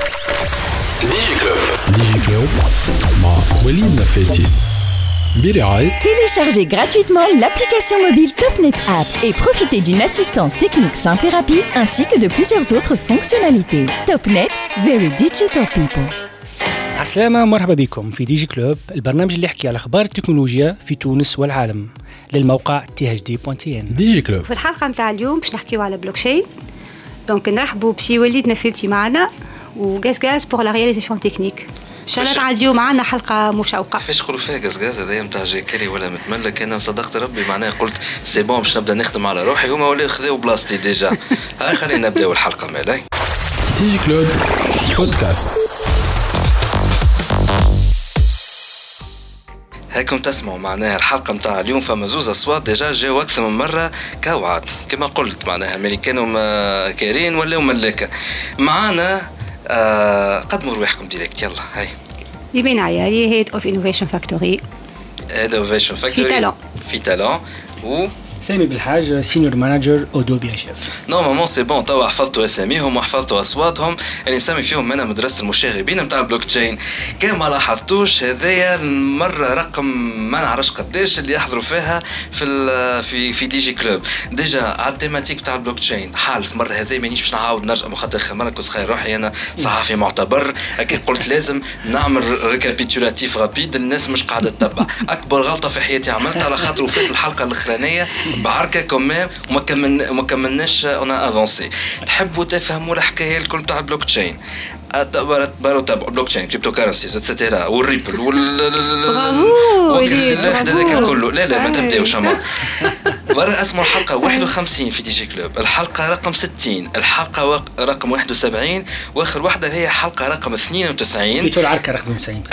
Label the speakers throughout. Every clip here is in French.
Speaker 1: ديجي كلوب مع وليد نفاتي برعاية.
Speaker 2: Téléchargez gratuitement l'application mobile TopNet App et profitez d'une assistance technique simple et rapide ainsi que de plusieurs autres fonctionnalités. TopNet, very digital people.
Speaker 3: عسلامة، مرحبا بكم في ديجي كلوب، البرنامج اللي يحكي على أخبار التكنولوجيا في تونس والعالم للموقع thd.tn.
Speaker 1: ديجي كلوب
Speaker 4: في الحلقة متاع اليوم باش نحكيو على بلوكشين. دونك نرحبوا بسي وليد نفاتي معنا وغاز بور لا رياليزاسيون تكنيك. ان شاء الله تعديو معنا حلقه مشوقه.
Speaker 5: كيفاش يقولوا فيها غاز هذايا نتاع جاكري ولا متملك؟ انا صدقت ربي معناها قلت سي بون باش نبدا نخدم على روحي، هما ولاو خذاو بلاصتي ديجا. هاي خلينا نبداو الحلقه مالاي.
Speaker 1: ديجي كلوب بودكاست.
Speaker 5: هاكم تسمعوا معناها الحلقه نتاع اليوم، فما زوز اصوات ديجا جاو اكثر من مره كوعد كما قلت، معناها امريكان كارين ولا ملاكه معانا. قدموا رواحكم ديريكت يلا. هاي
Speaker 4: يبين عيالي هيد اوف انوفيشن فاكتوري.
Speaker 5: هيد اوف انوفيشن فاكتوري في تالون و
Speaker 3: سامي بالحاج سينيور مانجر اودوبي يا شيف.
Speaker 5: نورمالمون سي بون، توا حفظتوا اساميهم وحفظتوا اصواتهم اللي نسمي فيهم انا مدرسه المشاغبين نتاع البلوك تشين. كان ما لاحظتوش هذايا المره رقم ما نعرفش قداش اللي يحضروا فيها في دي جي كلوب ديجا على التيماتيك تاع البلوك تشين. حالف مره هذايا مانيش باش نعاود نرجع خاطر خمرة كنت خير روحي انا صحفي معتبر، اكيد قلت لازم نعمل ريكابيتولاتيف رابيد، الناس مش قاعده تتبع. اكبر غلطه في حياتي عملتها على خاطر وفات الحلقه الاخرانيه بعركه كمان وما كملناش انا افونسي. تحبوا تفهموا الحكايه الكل تاع البلوك تشين، تبارو تبع بلوك تشين كريبتو كارنسيز اتسيتيرا والريبل الواحد هذاك الكل. لا ما تبداوش اما برا اسمه الحلقه 51 في دي جي كلوب، الحلقه رقم 60، الحلقه رقم 71، واخر واحده هي حلقه رقم 92
Speaker 3: في العركه رقم 90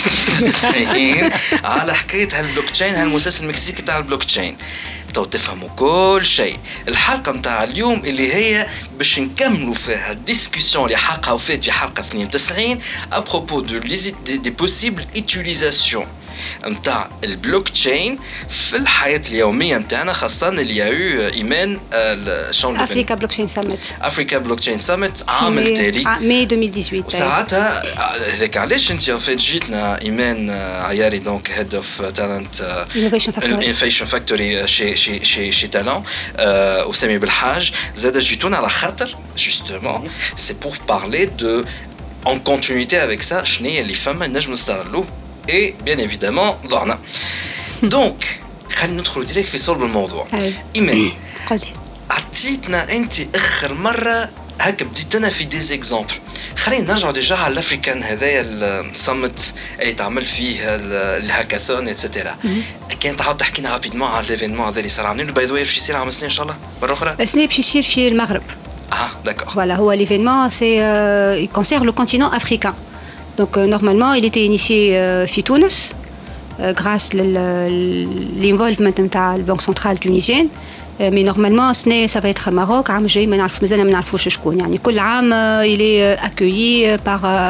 Speaker 5: على حكايه هالبلوك تشين، هالمؤسسه المكسيكي تاع البلوك تشين. تو تفهموا كل شيء. الحلقه متاع اليوم اللي هي باش نكملوا فيها الديسكسيون اللي حقها وفات في حلقه 92 ابروبو دي بوسيبل utilisations متاع البلوك تشين في الحياه اليوميه متاعنا، خاصه اللي يا ايمان شلون
Speaker 4: افريكا بلوك تشين سامت.
Speaker 5: افريكا بلوك تشين سامت عام التالي
Speaker 4: ماي 2018.
Speaker 5: وساعتها هذاك علاش انت فات جيتنا ايمان عياري دونك هيد اوف تالنت انوفيشن فاكتوري شي تالون وسامي بالحاج زاد جيتونا على خاطر جوستومون سي بور بارلي دو en continuité avec ça شنو اللي فما نجم نستغلوه et bien évidemment ضعنا. دونك خلينا ندخل ديريكت في صلب الموضوع. إيمان
Speaker 4: قلتي
Speaker 5: عطيتنا أنت آخر مرة هكا بديتنا في ديز إكزامبل. خلينا نرجع ديجا على الأفريكان هذايا السمت اللي تعمل فيه الهاكاثون إتسيتيرا. كان تعاود تحكينا رابيدمون على الإيفينمون هذا اللي صار عاملينه باي ذا واي باش يصير عام سنة إن شاء الله مرة أخرى.
Speaker 4: السنة باش يصير في المغرب.
Speaker 5: D'accord.
Speaker 4: Voilà, l'événement il concerne le continent africain. Donc normalement, il était initié في تونس grâce l'involvement de la Banque centrale tunisienne. Mais normalement, ça va être Maroc. عام جاي ما نعرف مازال ما نعرفوش شكون. يعني كل عام il est accueilli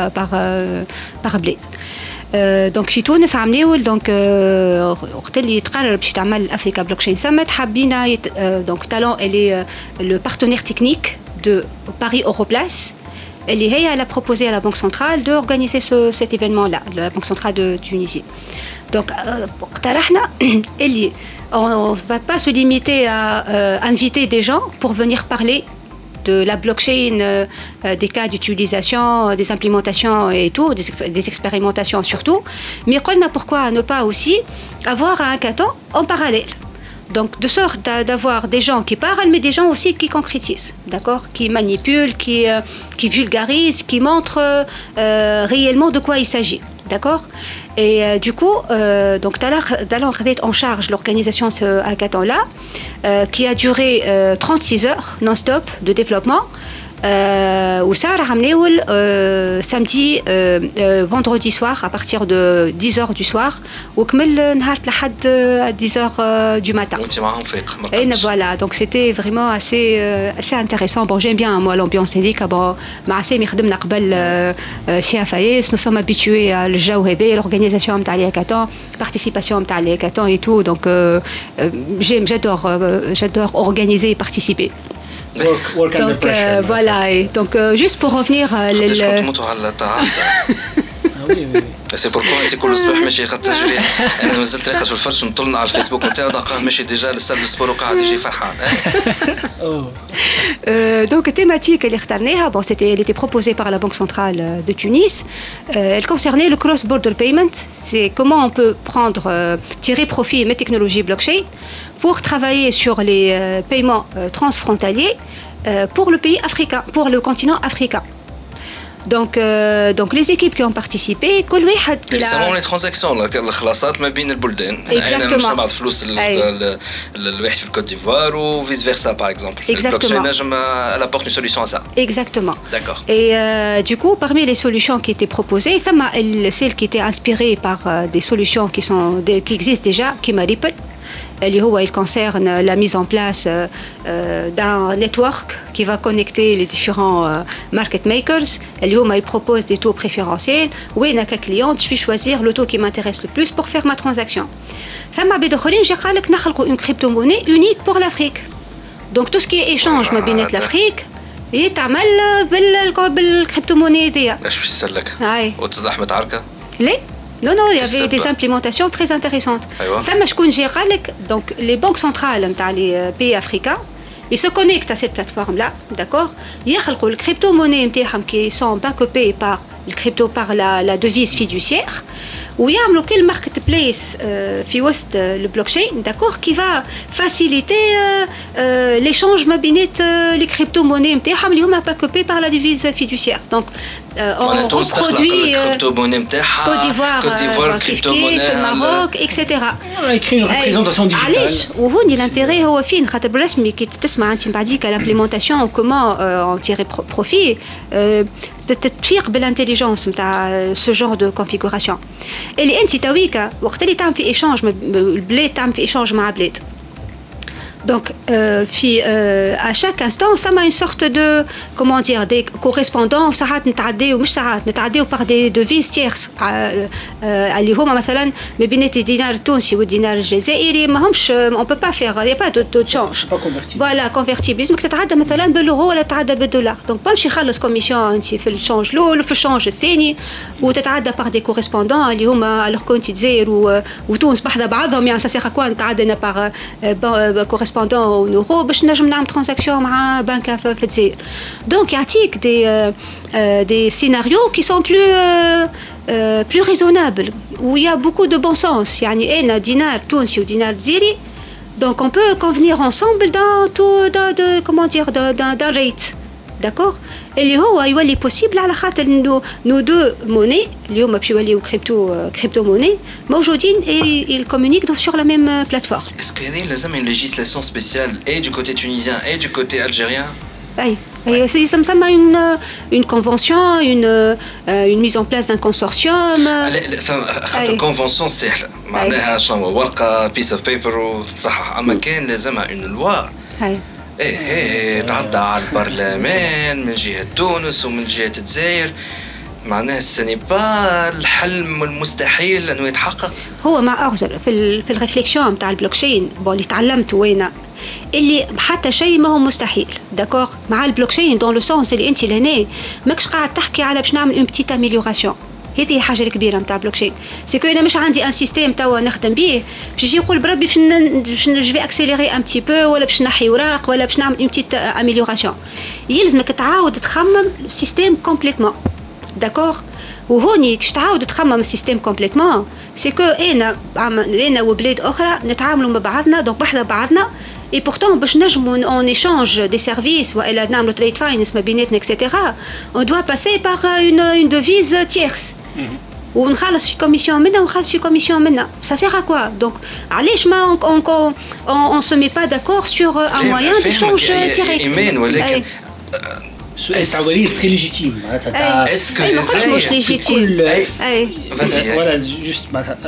Speaker 4: par بلاد. دونك في تونس عملوا دونك وقت اللي تقرر باش تعمل افريكا بلوكشين سامت حابين دونك تالون اللي لو بارتنير تكنيك دو باري اوروبلاس اللي هي elle a proposé à la Banque centrale d'organiser cet événement là, la Banque centrale de Tunisie. Donc اقترحنا اللي on va pas se limiter à inviter des gens pour venir parler de la blockchain, des cas d'utilisation, des implémentations et tout, des expérimentations surtout. Mais pourquoi ne pas aussi avoir un hackathon en parallèle? Donc de sorte d'avoir des gens qui parlent, mais des gens aussi qui concrétisent, d'accord, qui manipulent, qui vulgarisent, qui montrent réellement de quoi il s'agit. D'accord. Et du coup, donc Talent a en charge l'organisation de ce hackathon-là, qui a duré 36 heures non-stop de développement. وصار عملوا samedi vendredi soir à partir de 10h du soir وكمل نهار لحد 10h du matin.
Speaker 5: وانت معهم فيق
Speaker 4: Et voilà, donc c'était vraiment assez intéressant. Bon, j'aime bien moi l'ambiance هذيك. Bon, مع سامي خدمنا قبل chez Afayes, nous sommes habitués à الجو هذا, l'organisation نتاع لي هاكاثون, participation نتاع لي هاكاثون et tout. Donc j'adore organiser et participer.
Speaker 3: work under
Speaker 4: Donc
Speaker 3: pressure.
Speaker 4: voilà, et donc juste pour revenir
Speaker 5: قداش كنتوا تموتوا على التعاسة.
Speaker 3: oui.
Speaker 5: سي بوركو انت كل صباح ماشي خاطر تجري. انا مازلت راقص في الفرش نطلنا على الفيسبوك نتاعو نلقاه ماشي ديجا للسال دو سبور وقاعد يجي فرحان.
Speaker 4: Donc thématique اللي اخترناها bon elle était proposée par la Banque centrale de Tunis. Elle concernait le cross-border payment. C'est comment on peut prendre tirer profit des technologies blockchain pour travailler sur les paiements transfrontaliers pour le pays africain, pour le continent africain. Donc les équipes qui ont participé كل واحد
Speaker 5: يسمون لي ترانزاكسيون الخلاصات ما بين البلدان. انا مش نبعث فلوس الواحد في الكوت ديفوار و فيس فيرسا باغ اكزومبل. البلوكشين نجم elle apporte une solution à ça.
Speaker 4: Exactement.
Speaker 5: D'accord.
Speaker 4: Et du coup, parmi les solutions qui étaient proposées, celle qui était inspirée par des solutions qui existent déjà, qui m'a Ripple. Il concerne la mise en place d'un network qui va connecter les différents market makers. Il propose des taux préférentiels. Où il y a un client, je vais choisir le taux qui m'intéresse le plus pour faire ma transaction. Ça m'a dit que j'ai créé une crypto-monnaie unique pour l'Afrique. Donc tout ce qui est échange ma binette l'Afrique, يتعمل بالcrypto-monnaie دي.
Speaker 5: ايش باش يسلك؟ وتضح متعركه؟
Speaker 4: ليه؟ Non, il y avait des implémentations très intéressantes. Ça m'a dit donc les banques centrales les pays africains, ils se connectent à cette plateforme-là, d'accord? Ils créent le crypto-monnaie qui sont backupées par le crypto par la devise fiduciaire. Ou il y a un marketplace le blockchain, d'accord, qui va faciliter l'échange les crypto-monnaies qui sont backupées par la devise fiduciaire. Donc on produit Côte d'Ivoire, crypto-monnaie, Maroc, etc.
Speaker 3: On a écrit une représentation digitale.
Speaker 4: وهون l'intérêt هو فين خاطر بالرسمي كي تسمع انت بعديك l'implémentation ou comment en tirer profit تتفيق بالانتليجنس نتاع ce genre de configuration. اللي انت تويك وقت اللي تعمل في ايشانج البلاد تعمل في ايشانج مع بلاد. Donc, à chaque instant, ça m'a une sorte de, comment dire, des correspondants, par des devises tierces. اللي هما مثلا ما بين الدينار التونسي والدينار الجزائري ما همش on peut pas faire, il y a pas de taux de change. Voilà, convertible. لازمك تتعدى مثلا باليورو ولا تتعدى بالدولار. Donc باش يخلص كوميسيون انت في الشانج الاول وفي الشانج الثاني وتتعدى par des correspondants اللي هما alors كنت الجزائر وتونس بحذا بعضهم يعني ça sert à quoi نتعدى par correspondant au euro باش نجم نعمل ترانزاكسيون مع بنكه في الجزائر. Donc يعطيك des scénarios qui sont plus raisonnables où il y a beaucoup de bon sens. يعني أنا دينار تونسي ودينار جزائري donc on peut convenir ensemble comment dire d'un rate. D'accord. اللي هو يولي possible على خاطر انه nos deux monnaies اليوم باش يوليو crypto monnaie موجودين et ils communiquent sur la même plateforme.
Speaker 5: Est-ce qu'il y a لازم une législation spéciale et du côté tunisien et du côté algérien?
Speaker 4: Oui. Ça me une convention, une mise en place d'un consortium.
Speaker 5: خاطر convention سهلة معناها شنو ورقة piece of paper وتصحح أما كان لازمها une loi. ايه تعدى على البرلمان من جهة تونس ومن جهة الجزائر معناها السني با الحلم المستحيل انه يتحقق.
Speaker 4: هو مع أغزر في الريفليكشن بتاع البلوكشين اللي تعلمته وين اللي حتى شيء ما هو مستحيل داكور مع البلوكشين دون لو سونس اللي انت لهنا ماكش قاعد تحكي على باش نعمل اون بتيت اميليوراسيون. هذه حاجه الكبيره نتاع بلوكشين سي كو انا مش عندي ان سيستيم توا نخدم به باش يجي يقول بربي باش نجي اكسيليري ان بتي بو ولا باش نحي وراق ولا باش نعمل اون بتيت اميليوراسيون. يلزمك تعاود تخمم السيستيم كومبليتمون داكور. وهوني كش تعاود تخمم السيستيم كومبليتمون سي كو انا وبلاد اخرى نتعاملوا مع بعضنا دونك بحذا بعضنا et pourtant باش نجموا on échange des services والا نعملوا trade finance ما بيناتنا etc. on doit passer par une devise tierce ونخلص في كوميسيون منا ونخلص في كوميسيون منا. Ça sert à quoi? Donc علاش ما on se met pas d'accord sur un moyen d'échange direct.
Speaker 5: إيمان ولكن
Speaker 3: السؤال très légitime.
Speaker 5: Est-ce que
Speaker 4: مش légitime.
Speaker 3: Voilà, juste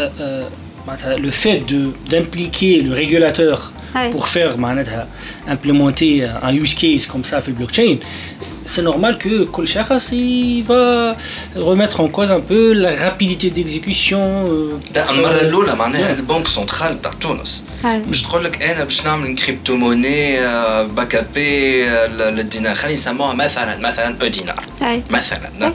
Speaker 3: le fait d'impliquer le régulateur pour faire implémenter un use case comme ça في البلوكشين c'est normal que كل شخص il va remettre en cause un peu la rapidité d'exécution.
Speaker 5: ده المره الاولى معناها البنك سنترال تاع تونس مش تقول لك انا باش نعمل كريبتو موني باك اب للدينار خلينا نسموها مثلا او دينار مثلا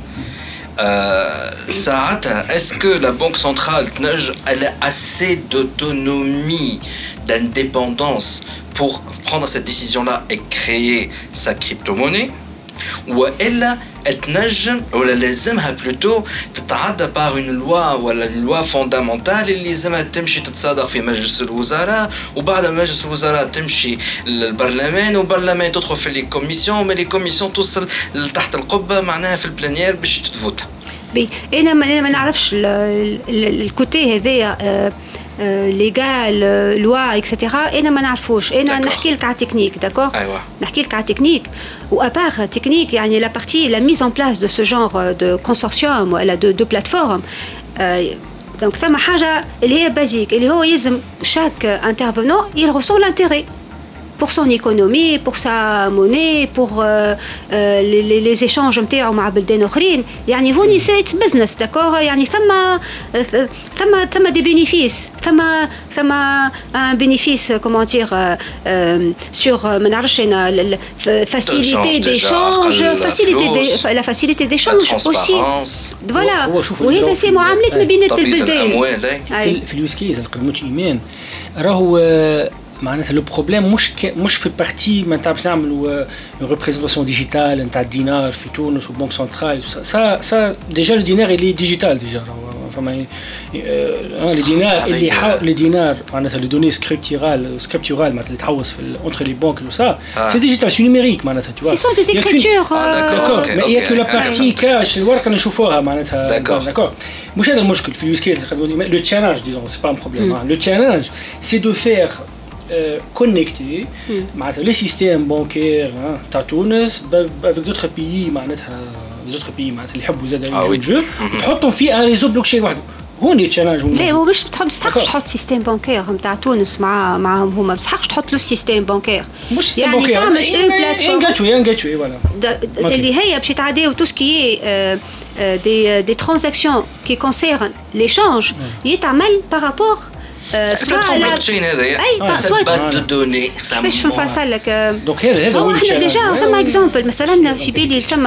Speaker 5: ساعتها est-ce que la banque centrale elle a assez d'autonomie d'indépendance pour prendre cette décision-là et créer sa crypto-monnaie وإلا تنجم ولا لازمها plutôt تتعدى par une loi ولا une loi fondamentale اللي لازمها تمشي تتصادق في مجلس الوزراء وبعد مجلس الوزراء تمشي للبرلمان والبرلمان تدخل في لي كوميسيون لي كوميسيون توصل لتحت القبة معناها في البلانيير باش تتفوت.
Speaker 4: انا ما نعرفش الكوتي هذايا ليغال لوا اكسيتيرا انا ما نعرفوش انا نحكي لك على تكنيك داكور
Speaker 5: ايوه
Speaker 4: نحكي لك على تكنيك وابار تكنيك يعني لا بارتي لا ميز ان بلاس دو سو جونغ دو كونسورسيوم ولا دو بلاتفورم دونك ثم حاجه اللي هي بازيك اللي هو يلزم شاك انترفونون il ressent l'intérêt pour son économie, pour sa monnaie, pour les échanges نتاعو مع بلدان اخرين يعني هوني سيت بزنس داكور يعني ثم دي بينيفيس ثم ان بينيفيس كومون دير سور ما نعرفش انا فاسيليتي ديشانج لا فاسيليتي ديشانج اوسي فوالا وهذا سي معاملات ما بين البلدان
Speaker 3: في اليوز كيز القدمه ايمان راهو معناتها لو بروبليم مش في البارتي ما نتاعش نعملوا اون ريبريزونطاسيون ديجيتال نتاع الدينار في تونس والبنك سنترال سا ديجا لو دينار اللي ديجيتال ديجا فما لي دينار معناتها لو دوني سكريبتورال معناتها اللي تحوس في اونتر لي بانك و سا سي ديجيتال سي نيميريك معناتها tu vois
Speaker 4: سي سون دي écritures
Speaker 3: داكور ما هي كو لا بارتي كاش الورقه نشوفوها معناتها داكور مش هذا المشكل في اليوز كيس لو تشالنج ديزون سي با ان بروبليم لو تشالنج سي دو فير connecter les systèmes bancaires تاع تونس avec d'autres pays معناتها les autres pays معناتها اللي يحبوا زاد يجوا الجو تحطوا فيه ان ريزو بلوكشين وحده هوني تشالنج.
Speaker 4: لا هو مش تحقش تحط سيستم بانكير نتاع تونس معاهم هما بس حقش تحط له سيستم بانكير
Speaker 3: مش
Speaker 4: يعني تعمل اون
Speaker 3: بلاتفورم جاتوي فوالا
Speaker 4: اللي هي باش تعديو تو سكي des transactions qui concernent l'échange يتعمل par rapport
Speaker 5: soit la blockchain هذايا cette base de données
Speaker 4: كيفاش نفصل لك
Speaker 3: دونك هذا هو
Speaker 4: احنا ديجا ثم اكزامبل مثلا في بالي ثم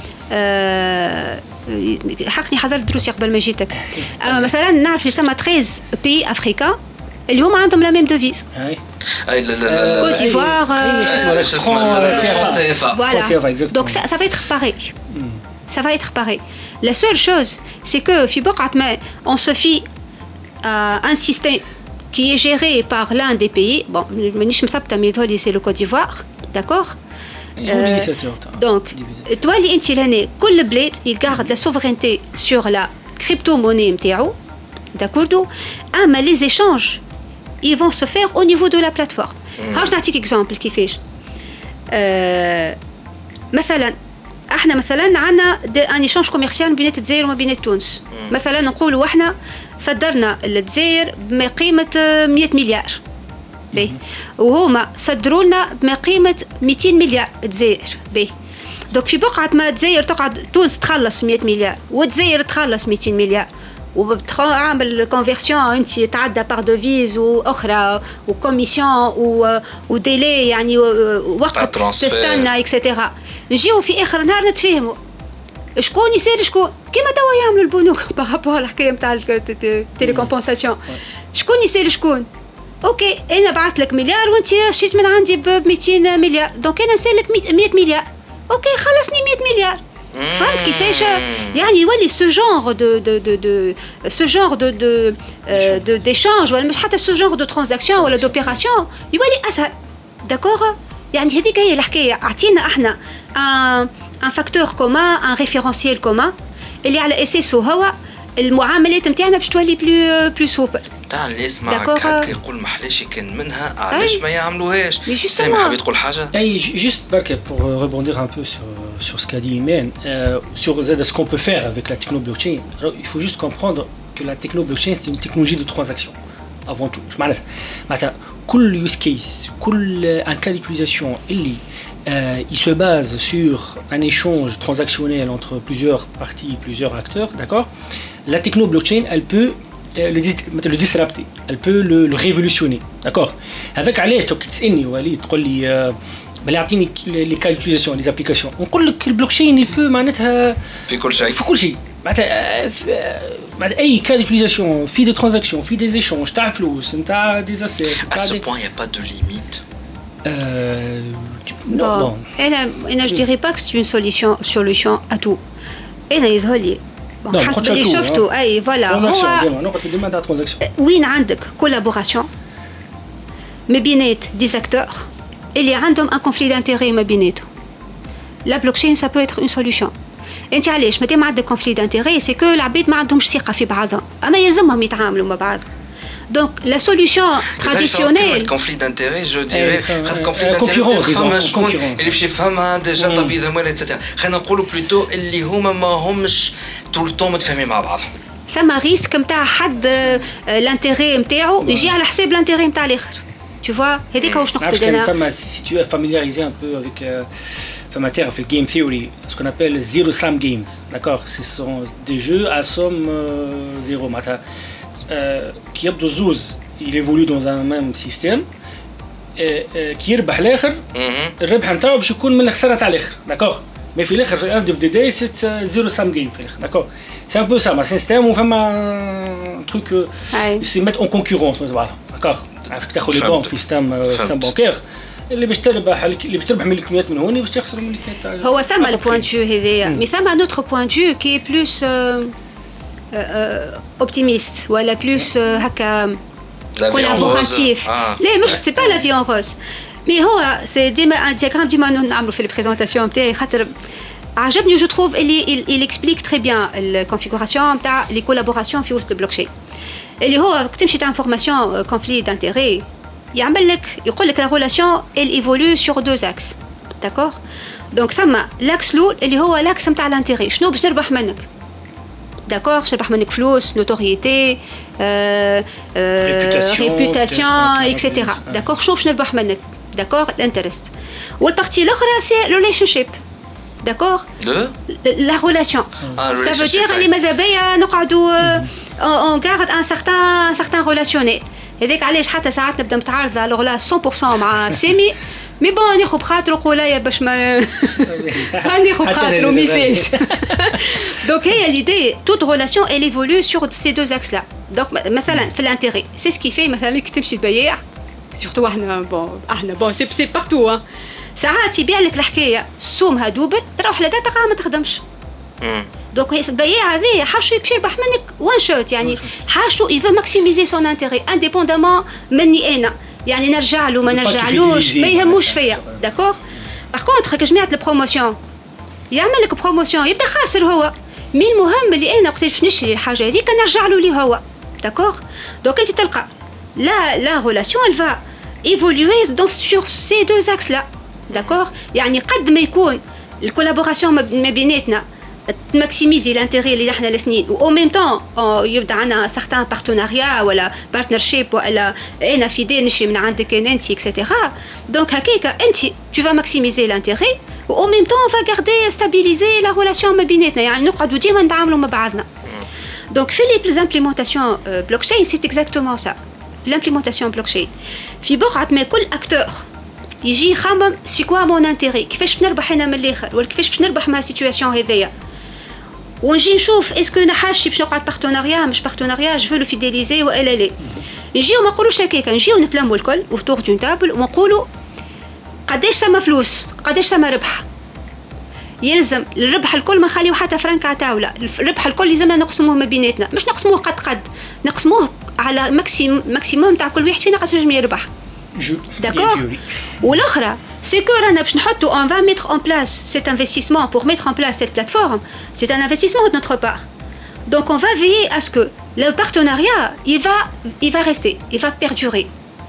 Speaker 4: حقني حضرت دروسي قبل ما جيتك اما مثلا نعرف ثم 13 بي افريكا اللي هما عندهم لا ميم دوفيز
Speaker 5: اي لا
Speaker 4: كوت ديفوار
Speaker 5: فرنسا
Speaker 4: دونك ça va être pareil ça va être pareil la seule chose c'est que في بقعة ما on se fie un système qui est géré par l'un des pays. Bon, مانيش مثبته ميثودي c'est le Côte d'Ivoire, d'accord donc toi اللي انت لهنا كل بلاد il garde la souveraineté sur la crypto-monnaie نتاعو d'accord اما les échanges ils vont se faire au niveau de la plateforme. هاش نعطيك اكزامبل كيفاش مثلا احنا مثلا عندنا ان ايشانج كوميرسيال بين الجزائر وما بين تونس مثلا نقولوا احنا صدرنا للجزائر بقيمه 100 مليار باهي وهما صدروا لنا بقيمه 200 مليار الجزائر باهي دونك في بقعه ما الجزائر تقعد تونس تخلص 100 مليار والجزائر تخلص 200 مليار وبتعمل كونفيرسيون انت تعدى بار دوفيز واخرى وكوميسيون وديلي يعني وقت تستنى اكسترا نجيو في اخر نهار نتفاهموا شكون يسال شكون كيما توا يعملوا البنوك بارابور الحكايه نتاع التيليكومبونساسيون شكون يسال شكون اوكي انا بعثت لك مليار وانت شريت من عندي ب 200 مليار دونك انا نسالك 100 مليار اوكي خلصني 100 مليار فهمت كيفاش يعني يولي ce genre de d'échange ولا حتى ce genre de transaction ولا d'opération يولي اسهل داكور يعني هذيك هي الحكايه اعطينا احنا ان فاكتور كومان ان ريفيرونسيال كومان اللي على اساسه هو المعاملات نتاعنا باش تولي بلو سوبر
Speaker 5: تاع اللي يسمع هكا يقول محلاش كان منها علاش ما يعملوهاش سامي حابب تقول حاجه
Speaker 3: اي جوست برك pour rebondir un peu sur ce qu'a dit Imen sur ce qu'on peut faire avec la techno blockchain il faut juste comprendre que la techno blockchain c'est une technologie de transaction avant tout معناتها كل use case كل ان cas d'utilisation اللي il se base sur un échange transactionnel entre plusieurs parties, plusieurs acteurs, d'accord? La techno blockchain, elle peut le disrupter, elle peut le révolutionner, d'accord? Avec علاش تسألني وليد تقول لي بل يعطيني لي كا ديوتيليزاسيون لي زابليكاسيون نقول لك البلوكشين يبو معناتها
Speaker 5: في كل شيء
Speaker 3: معناتها اي كا ديوتيليزاسيون في دي ترانزاكسيون في دي ايشونج تاع فلوس نتاع دي اسيت
Speaker 5: à ce point il y a pas de limite.
Speaker 3: Non.
Speaker 4: انا je dirais pas que c'est une solution à tout. انا يظهر لي حسب اللي شفته اي فوالا
Speaker 3: هو نقطه ديما تاع ترانزاكسيون
Speaker 4: وين عندك كولابوراسيون ما بينات دي زاكتور اللي عندهم ان كونفلي دانتيري ما بيناتهم. لا بلوكشين سا بو اتر اون سوليوشن. انت علاش مادام عندك كونفلي دانتيري سي كو العباد ما عندهمش ثقه في بعضهم اما يلزمهم يتعاملوا مع بعض. Donc la solution traditionnelle
Speaker 5: conflit d'intérêt je dirais conflit d'intérêt فما شكون اللي باش يفهمها ديجا طبيب ذموال ايتترا خلينا نقولوا بلوتو اللي هما ما همش طول الطون متفاهمين مع بعض.
Speaker 4: ثم ريسك نتاع حد الانتيري نتاعو يجي على حساب الانتيري نتاع الاخر. Tu vois هذيك واش نقصد انا.
Speaker 3: فما si tu es familiarisé un peu avec فما terme في الجيم ثيوري ce qu'on appelle zero sum games, d'accord? Ce sont des jeux à somme zéro معناتها كي يبدو الزوز il évolue dans un même système كي يربح الاخر الربح نتاعو باش يكون من الخساره تاع الاخر داكوغ مي في الاخر في اند اوف ذا داي سي زيرو سام جيم في الاخر داكوغ سي ان بو سا ما سيستيم وفما تروك سي ميت اون كونكورونس مع بعضهم داكوغ عرفت تاخذ لي بون في سيستم بانكير اللي باش تربح من الكميات من هون باش تخسر من الكميات
Speaker 4: هو ثم البوان دو هذايا مي ثم نوتر بوان دو كي بلوس optimiste ولا بلوس هكا collaboratif. لا مش سي با لا في اون روز مي هو سي ديما ان دياغرام ديما نعملوا في البريزونطاسيون نتاعي خاطر عجبني جو تروف اللي il explique très bien الكونفيغوراسيون نتاع لي كولابوراسيون في وسط البلوكشين اللي هو كي تمشي تاع انفورماسيون كونفلي دانتيري يعمل لك يقول لك لا ريلاسيون elle évolue sur deux axes d'accord donc ثم لاكس الاول اللي هو لاكس نتاع الانتيري شنو باش نربح منك d'accord je منك فلوس notoriété réputation etc d'accord شو باش نربح منك d'accord l'interest والبارتي الاخرى سي relationship d'accord la relation ça veut dire اللي ماذا بيا نقعدوا on garde un certain relationnel هذاك علاش حتى ساعات نبدا متعارضه لوغلا 100% مع سامي مي بون ناخذ بخاطره قولايا باش ما ناخذ بخاطره ميساج دونك هي ليدي توت ريلاسيون elle évolue sur ces deux axes là donc مثلا في الانتيري سي سكي في مثلا كي تمشي البياع سورتو احنا بون سي بارتو ساعات يبيع لك الحكايه سومها دوبل تروح لداتها ما تخدمش دونك البياع هذايا حاجه باش يربح منك وان شوت يعني حاجته يفو ماكسيميزي سون انتيري انديبوندامون مني انا يعني نرجع له ما نرجعلوش ما يهموش فيا داكور باغ كونطخ كي جمعت البروموسيون يعمل لك بروموسيون يبدا خاسر هو مي المهم اللي انا وقت باش نشري الحاجه هذيك نرجع له ليه هو داكور دونك انت تلقى لا ريلاسيون elle va évoluer sur ces deux axes là داكور يعني قد ما يكون الكولابوراسيون ما بيناتنا تماكسيميزي الانتيري اللي احنا الاثنين و ميم طون يبدا عندنا سارتان بارتناريا ولا بارتنرشيب ولا انا فيدي نشري من عندك انت اكسيتيرا دونك هكاك انت tu vas maximiser l'intérêt و ميم طون on va garder stabiliser la relation ما بيناتنا يعني نقعدوا ديما نتعاملوا مع بعضنا دونك في لي امبليمونطاسيون بلوكشين سي اكزاكتومون سا في لامبليمونطاسيون بلوكشين في بقعه ما كل اكتور يجي يخمم سي كوا مون انتيري كيفاش نربح انا من الاخر ولا كيفاش باش نربح مع السيتوياسيون هذيا ونجي نشوف اسكو انا حاجتي باش نقعد بارتناريا مش بارتناريا جو لو فيديليزي والا لا نجيو ما نقولوش هكاك نجيو نتلموا الكل اوتور دون تابل ونقولوا قداش ثما فلوس قداش ثما ربح يلزم الربح الكل ما نخليو حتى فرنك على طاوله الربح الكل لازمنا نقسموه ما بيناتنا مش نقسموه قد نقسموه على ماكسيموم تاع كل واحد فينا قداش نجم يربح d'accord والاخرى c'est que رانا باش نحطوا on va mettre en place cet investissement pour mettre en place cette plateforme c'est un investissement de notre part donc on va veiller à ce que le partenariat il va rester il va perdurer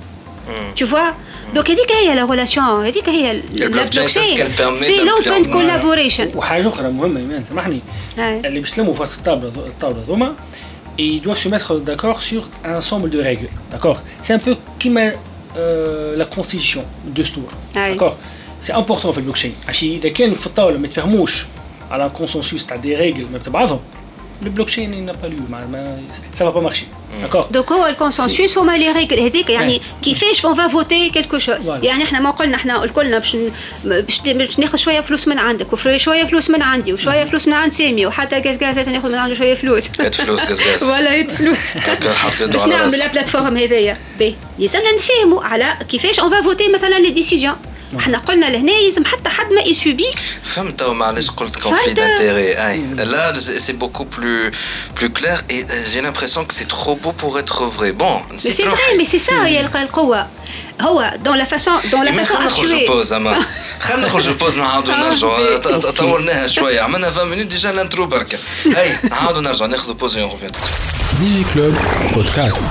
Speaker 4: tu vois donc هذيك هي la relation هذيك هي البلوكشين c'est l'open collaboration
Speaker 3: وحاجه اخرى مهمه ايمان سامحني اللي باش تلموا في الطاوله ذوما et ils doivent se mettre d'accord sur un ensemble de règles d'accord c'est un peu qui la constitution de stour d'accord سي امبورطون في البلوكشين عشان اذا كان في الطاوله ما يتفهموش على كونسنسوس تاع دي ريغل ما بعضهم البلوكشين n'a pas lieu ça va pas marcher d'accord
Speaker 4: donc هو الكونسنسوس هما لي ريغل هذيك يعني كيفاش اون فا فوتي كلكو شوز يعني احنا ما قلنا احنا الكلنا باش ناخذ شويه فلوس من عندك وشويه فلوس من عندي وشويه فلوس من عند سامي وحتى غازغازات ناخذ من عنده شويه فلوس
Speaker 5: فلوس غازغاز
Speaker 4: ولا فلوس باش نعملوا لا بلاتفورم هذيا باهي لازمنا نفهموا على كيفاش اون فا فوتي مثلا لي ديسيجن احنا قلنا لهنا لازم حتى حد ما يسوبي
Speaker 5: فهمت معليش قلت conflit d'intérêt là c'est beaucoup plus clair et j'ai l'impression que c'est trop beau pour être vrai bon
Speaker 4: c'est vrai mais c'est ça هي القوة هو dans la façon
Speaker 5: نخرجوا بوز خلينا نخرجوا بوز نعاودوا نرجعوا طولناها شويه عملنا 20 مينوت ديجا الانترو بركه هاي نعاودوا نرجعوا ناخذوا بوز ونرجعوا
Speaker 1: ديجي كلوب بودكاست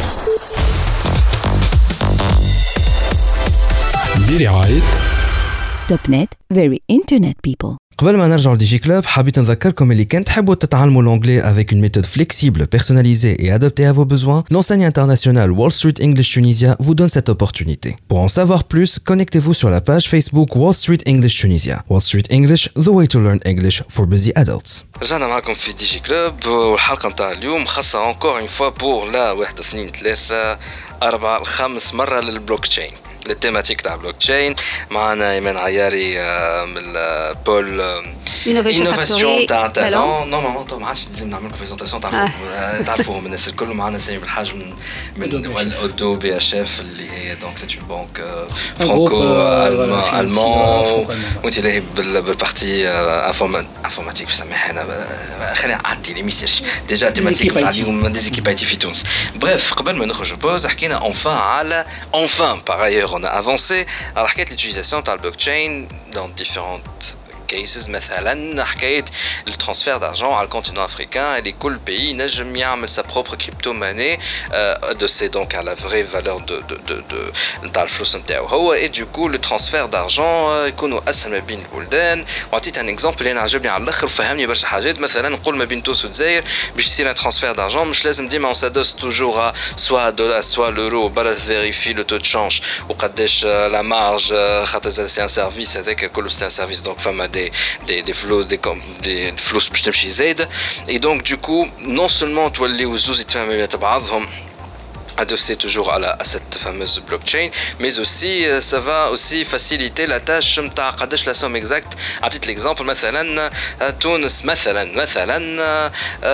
Speaker 1: برعاية
Speaker 2: توب نت very internet people.
Speaker 6: قبل ما نرجع لديجي كلوب حبيت نذكركم اللي كان تحبوا تتعلموا l'anglais avec une méthode flexible, personnalisée et adaptée à vos besoins, l'enseigne internationale Wall Street English Tunisia vous donne cette opportunité. Pour en savoir plus, connectez-vous sur la page Facebook Wall Street English Tunisia. Wall Street English, the way to learn English for busy adults.
Speaker 5: رجعنا معكم في ديجي كلوب والحلقة متاع اليوم خاصة encore une fois pour la 1 2 3 4 5 مرة للبلوك تشين. التيماتيك تاع بلوك تشين معنا ايمان عياري من بول انوفاسيون تاع تالون نورمالمون ما عادش لازم نعمل لكم بريزونطاسيون تعرفوهم الناس الكل معنا سامي بالحاج من اودو بي اش اف اللي هي دونك سيت اون بانك فرانكو المون وانت لاهي بالبارتي انفورماتيك بسميها انا خلينا نعدي لي ميساج ديجا تيماتيك تاع اليوم ديزيكيب اي تي في تونس بريف قبل ما نخرجوا بوز حكينا اونفان على اونفان باغ ايور on a avancé à la l'utilisation de la blockchain dans différentes cases مثلا حكايه le transfert d'argent على الكونتينون africain et كل pays نجم يعمل sa propre crypto-monnaie adossée donc à la vraie valeur de تاع الفلوس نتاعو هو et du coup le transfert d'argent يكونوا اسهل ما بين البلدان وعطيت ان اكزامبل اللي انا عجبني على الاخر وفهمني برشا حاجات مثلا نقول ما بين تونس والجزائر باش يصير ترانسفير d'argent مش لازم ديما on s'adosse toujours à soit dollar soit l'euro برا vérifie le taux de change وقداش la marge خاطر c'est un service هذاك كله c'est un service donc فما des flous باش تمشي زايده et donc du coup non seulement توليو الزوز يتفاهموا بعضهم adossé toujours à cette fameuse blockchain mais aussi ça va aussi faciliter la tâche نتاع قداش la somme exacte عطيت l'exemple مثلا تونس مثلا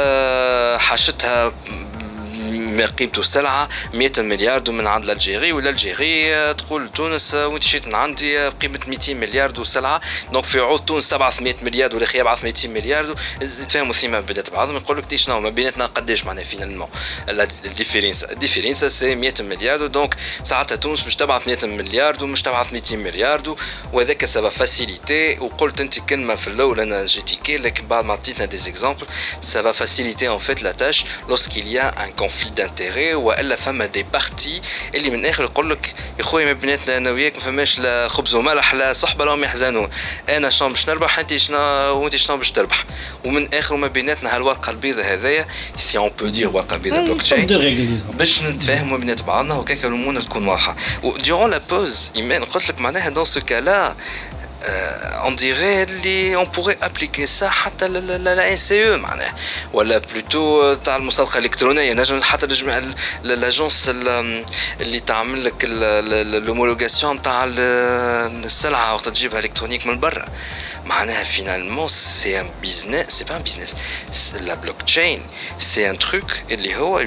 Speaker 5: حاشتها ما قيمته السلعة 100 مليار من عند الجيري ولا الجيري تقول تونس وانت شيت من عندي قيمة 200 مليار سلعة دونك في عود تونس تبعث 100 مليار ولا خي يبعث 200 مليار يتفاهموا ثيما بدات بعضهم يقول لك شنو ما بيناتنا قداش معناها فينالمون الديفيرنس سي 100 مليار دونك ساعتها تونس مش تبعث 100 مليار ومش تبعث 200 مليار وهذاك سافا فاسيليتي وقلت انت كلمة في الاول انا جيتيكي لكن بعد ما عطيتنا دي اكزامبل سافا فاسيليتي ان فيت لا تاش lorsqu'il y a un conflit d'intérêt والا فما دي بارتي اللي من الاخر يقول لك يا خويا ما بيناتنا انا وياك ما فماش لا خبز وملح لا صحبه لهم يحزنون انا شنو باش نربح انت شنو وانت شنو باش تربح ومن الاخر ما بيناتنا هالورقه البيضاء هذايا سي اون بو دير ورقه بيضاء بلوكتشين باش نتفاهموا بينات بعضنا وكاك الامور تكون واضحه وديرون لا بوز ايمان قلت لك معناها دون سو كالا on dirait on pourrait appliquer ça حتى la NCE معناها ولا بلوتو تاع المصادقه الالكترونيه نجم حتى لاجونس اللي تعمل لك لومولوغاسيون تاع السلعه وقت تجيبها الكترونيك من برا معناها finalement c'est un business c'est pas un business la blockchain c'est un truc اللي هو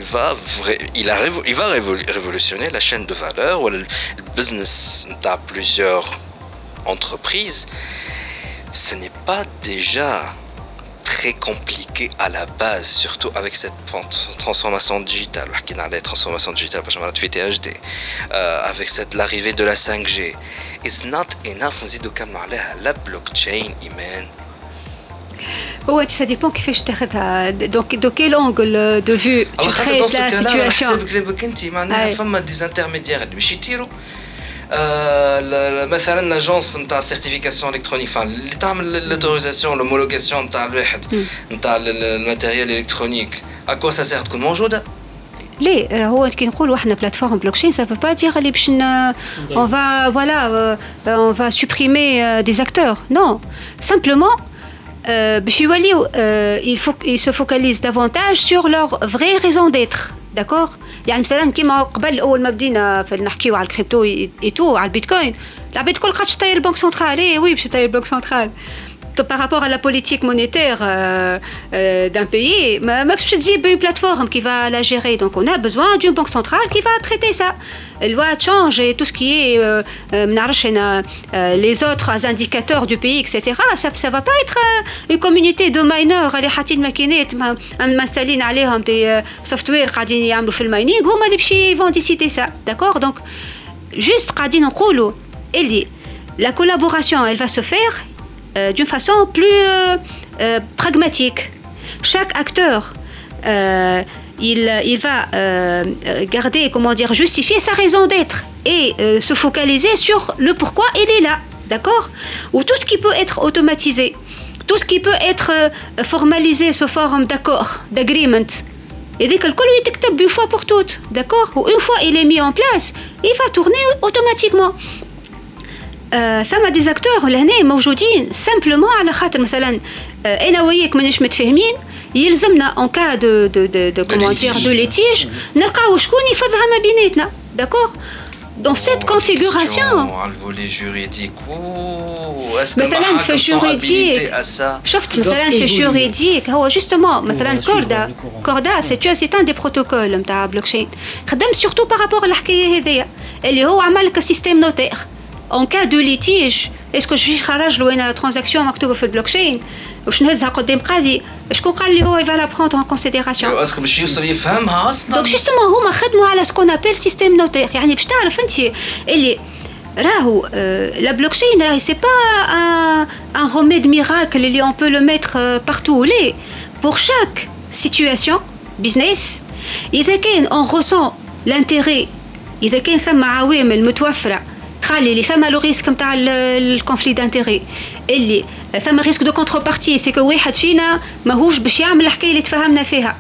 Speaker 5: il va révolutionner la chaîne de valeur ou le business نتاع plusieurs entreprise, ce n'est pas déjà très compliqué à la base, surtout avec cette transformation digitale. La transformation digitale, avec l'arrivée de la 5G. It's not enough, on dit de la blockchain, Iman.
Speaker 4: Ouais, ça dépend qui fait je t'arrête. Donc, de quel angle de vue tu traites la situation?
Speaker 5: Des intermédiaires, مثلا لاجونس نتاع سيرتيفيكاسيون الكترونيك اللي تعمل لوتوريزاسيون لومولوغاسيون نتاع الواحد نتاع الماتيريال الكترونيك اكوا سا سير تكون موجوده
Speaker 4: ليه هو كي نقولوا احنا بلاتفورم بلوكشين ça veut pas dire اللي باش on va voilà on va supprimer des acteurs non simplement باش يوليو ils se focalisent davantage sur leur vraie raison d'être d'accord يعني مثلا كيما قبل اول ما بدينا نحكيو على الكريبتو ايتو على البيتكوين العباد الكل قاعده تطير البنك سنترال وي باش تطير البنك سنترال par rapport à la politique monétaire d'un pays, je dis une plateforme qui va la gérer. Donc, on a besoin d'une banque centrale qui va traiter ça. Elle va changer tout ce qui est les autres indicateurs du pays, etc. Ça ne va pas être une communauté de mineurs qui m'installent عليهم des softwares qui يعملوا في الماينينغ هما اللي vont décider ça. D'accord? Donc, juste قاعدين نقولوا اللي la collaboration, elle va se faire d'une façon plus pragmatique. Chaque acteur, il va garder, comment dire, justifier sa raison d'être et se focaliser sur le pourquoi il est là, d'accord ? Ou tout ce qui peut être automatisé, tout ce qui peut être formalisé sous forme d'accord, d'agreement. Et dès que le col est écrit une fois pour toutes, d'accord ? Ou une fois il est mis en place, il va tourner automatiquement. ثم دي زاكتور لهنا موجودين سامبلومون على خاطر مثلا انا وياك ماناش متفاهمين يلزمنا اون كا دو كومون دير دو ليتيج نلقاو شكون يفضها ما بيناتنا داكور dans cette configuration
Speaker 5: على الفولي جوريديك
Speaker 4: مثلا في الجوريديك شفت مثلا في الجوريديك هو جوستومون مثلا كوردا سي ان دي بروتوكول نتاع بلوكشين خدم سورتو بارابور الحكايه هذيا اللي هو عمل لك سيستيم نوتير en cas de litige est-ce que je vais خرج له انا ترانزاكسيون مكتوبه في البلوكشين واش نهزها قدام قاضي شكون قال لي هو va la prendre en considération
Speaker 5: اسكو باش يوصل يفهمها اصلا
Speaker 4: دونك جوستومون هما خدموا على سكون ابل سيستيم نوتير يعني باش تعرف انت اللي راهو la blockchain راهي c'est pas un remède miracle اللي on peut le mettre partout où les pour chaque situation business اذا كان on ressent l'intérêt اذا كان ثم عوامل متوفره تخلي اللي ثم لو ريسك نتاع الكونفلي دانتيري اللي ثم ريسك دو كونتربارتي سي كو واحد فينا ماهوش باش يعمل الحكايه اللي تفهمنا فيها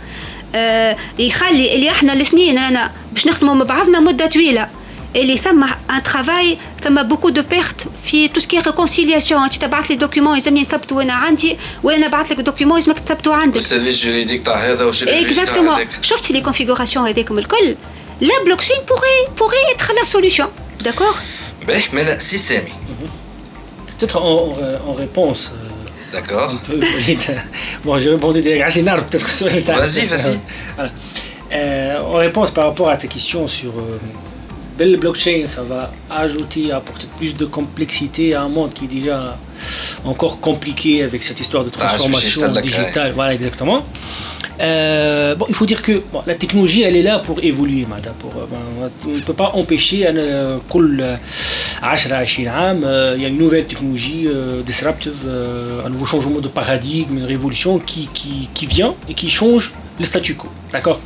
Speaker 4: يخلي اللي احنا الاثنين رانا باش نخدموا مع بعضنا مده طويله اللي ثم ان ترافاي ثم بوكو دو بيرت في تو سكي ريكونسيلياسيون انت تبعث لي دوكيومون لازمني نثبتوا انا عندي وانا نبعث لك دوكيومون لازمك تثبتوا عندك
Speaker 5: السيرفيس جوريديك تاع هذا وش
Speaker 4: اكزاكتومون شفت في لي كونفيغوراسيون هذيكم الكل لا بلوكشين pourrait être la solution d'accord.
Speaker 5: Mais là, si c'est mis.
Speaker 3: Peut-être en réponse.
Speaker 5: D'accord.
Speaker 3: Bon, j'ai répondu des Rachinard, peut-être sur les tables.
Speaker 5: Vas-y.
Speaker 3: Voilà. En réponse par rapport à ta question sur le blockchain, ça va apporter plus de complexité à un monde qui est déjà encore compliqué avec cette histoire de transformation digitale. Voilà, exactement. Bon, il faut dire que la technologie, elle est là pour évoluer. On ne peut pas empêcher كل 10-20 عام il y a une nouvelle technologie disruptive, un nouveau changement de paradigme, une révolution qui vient et qui change le statu quo. D'accord.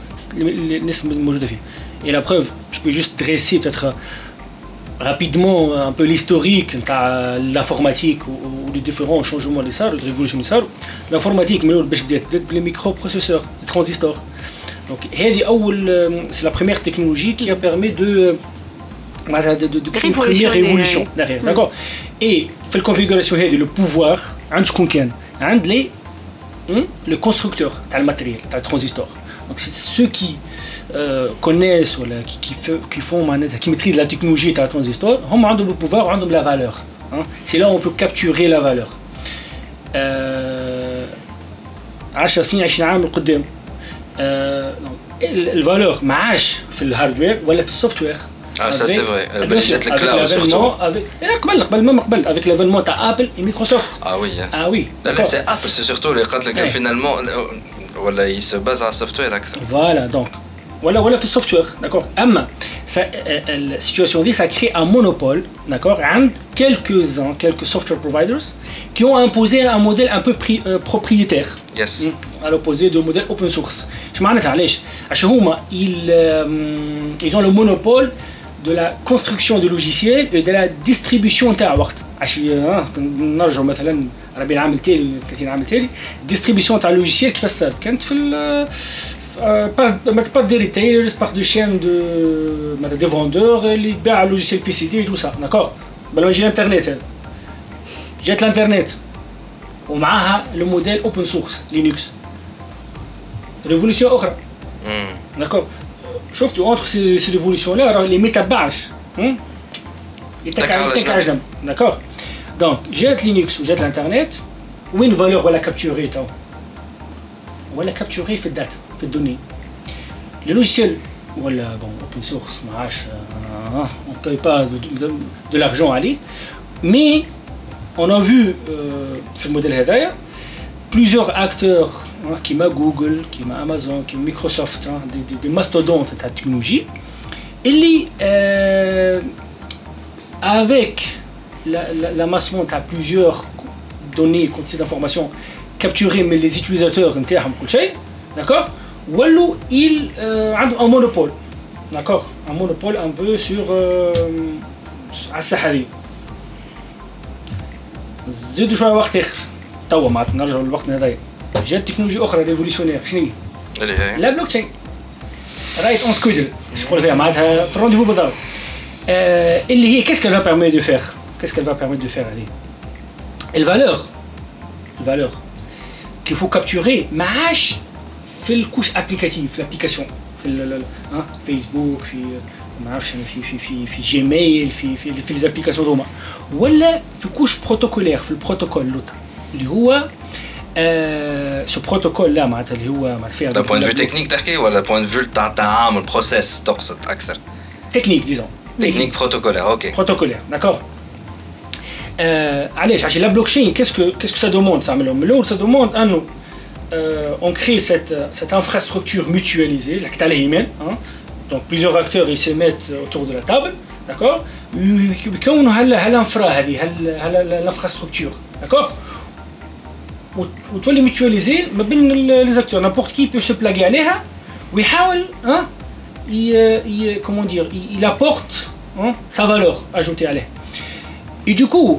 Speaker 3: Et la preuve, je peux juste dresser peut-être rapidement un peu l'historique de l'informatique ou les différents changements des salles, les révolutions des salles. L'informatique, les microprocesseurs, les transistors. Donc, c'est la première technologie qui a permis de créer une première révolution derrière. D'accord. Et fait la configuration, le pouvoir, le constructeur, le matériel, le transistor. Donc, c'est ceux qui connaissent ou qui maîtrisent la technologie de la transistor, ils ont le pouvoir, ils ont la valeur. C'est là où on peut capturer la valeur. 10 سنين 20 عام لقدام الفالور ما عادش في الهاردوير ولا في السوفت وير.
Speaker 5: ça c'est vrai. جات الكلاود surtout.
Speaker 3: قبل avec l'avènement تاع ابل et Microsoft.
Speaker 5: Ah oui. لا c'est Apple, c'est surtout اللي قالت لك finalement ولا il se base على السوفت وير اكثر.
Speaker 3: Voilà, donc ولا في السوفت وير, d'accord. اما la situation دي ça crée un monopole, d'accord, عند quelques software providers qui ont imposé un modèle un peu propriétaire.
Speaker 5: Yes.
Speaker 3: À l'opposé du modèle open source. Je معناتها علاش؟ عشان هما ils ont le monopole de la construction de logiciels et de la distribution تاع وقت. عشان نرجعوا مثلا 40 عام تالي 30 عام تالي distribution تاع logiciels كيفاش صارت؟ كانت في par des retailers, par des chaînes de vendeurs, les logiciels PCD et tout ça, d'accord? Ben, j'ai l'internet. J'ai l'internet. ومعها le modèle open source Linux. Révolution autre. D'accord. شفتوا entre ces révolutions là les métabages. D'accord. Donc j'ai Linux ou j'ai l'internet. Où une valeur ولا capturer toi. ولا capturer في الداتا في الدونnées. Le logiciel ولا bon open source معاش on paye pas de l'argent عليه. Mais on a vu sur le modèle هذايا plusieurs acteurs qui m'a Google, qui m'a Amazon, qui m'a Microsoft, des mastodontes de la technologie, et avec l'amassement de plusieurs données, quantités d'informations capturées mais les utilisateurs internes, d'accord, il a un monopole, d'accord, un monopole un peu sur الساحة. زيدوا شويه وقت اخر توا معناتها نرجعوا للوقتنا هذايا جات تكنولوجيا اخرى ريفوليسيونير شنو هي؟
Speaker 5: اللي هي
Speaker 3: لا بلوك تشين رايت اون سكويدل شغل فيها معناتها في الرونديفو بالضبط اللي هي كيسكو فا بيرمي دو فير كيسكو فا بيرمي دو فير عليه الفالور qu'il faut capturer ما عادش في الكوش ابليكاتيف في الابليكاسيون في فيسبوك في ما نعرفش انا في جيميل في لي ابليكاسيون هما ولا في كوش بروتوكولير في البروتوكول لوتا اللي هو سو بروتوكول لا معناتها اللي هو معناتها فيها
Speaker 5: بوين فيو تكنيك تحكي ولا بوين فيو تاع التعامل بروسيس تقصد اكثر
Speaker 3: تكنيك ديزون
Speaker 5: تكنيك بروتوكولير اوكي
Speaker 3: بروتوكولير داكور علاش عشان لا بلوكشين كيسكو سا دوموند تعملهم من الاول سا دوموند انه on crée cette infrastructure mutualisée là que tu as les emails donc plusieurs acteurs ils se mettent autour de la table d'accord يكونوا هالانفرا هذه l'infrastructure d'accord وتولي mutualiser ما بين les acteurs n'importe qui peut se plaguer عليها ويحاول comment dire il apporte sa valeur ajoutée عليها et du coup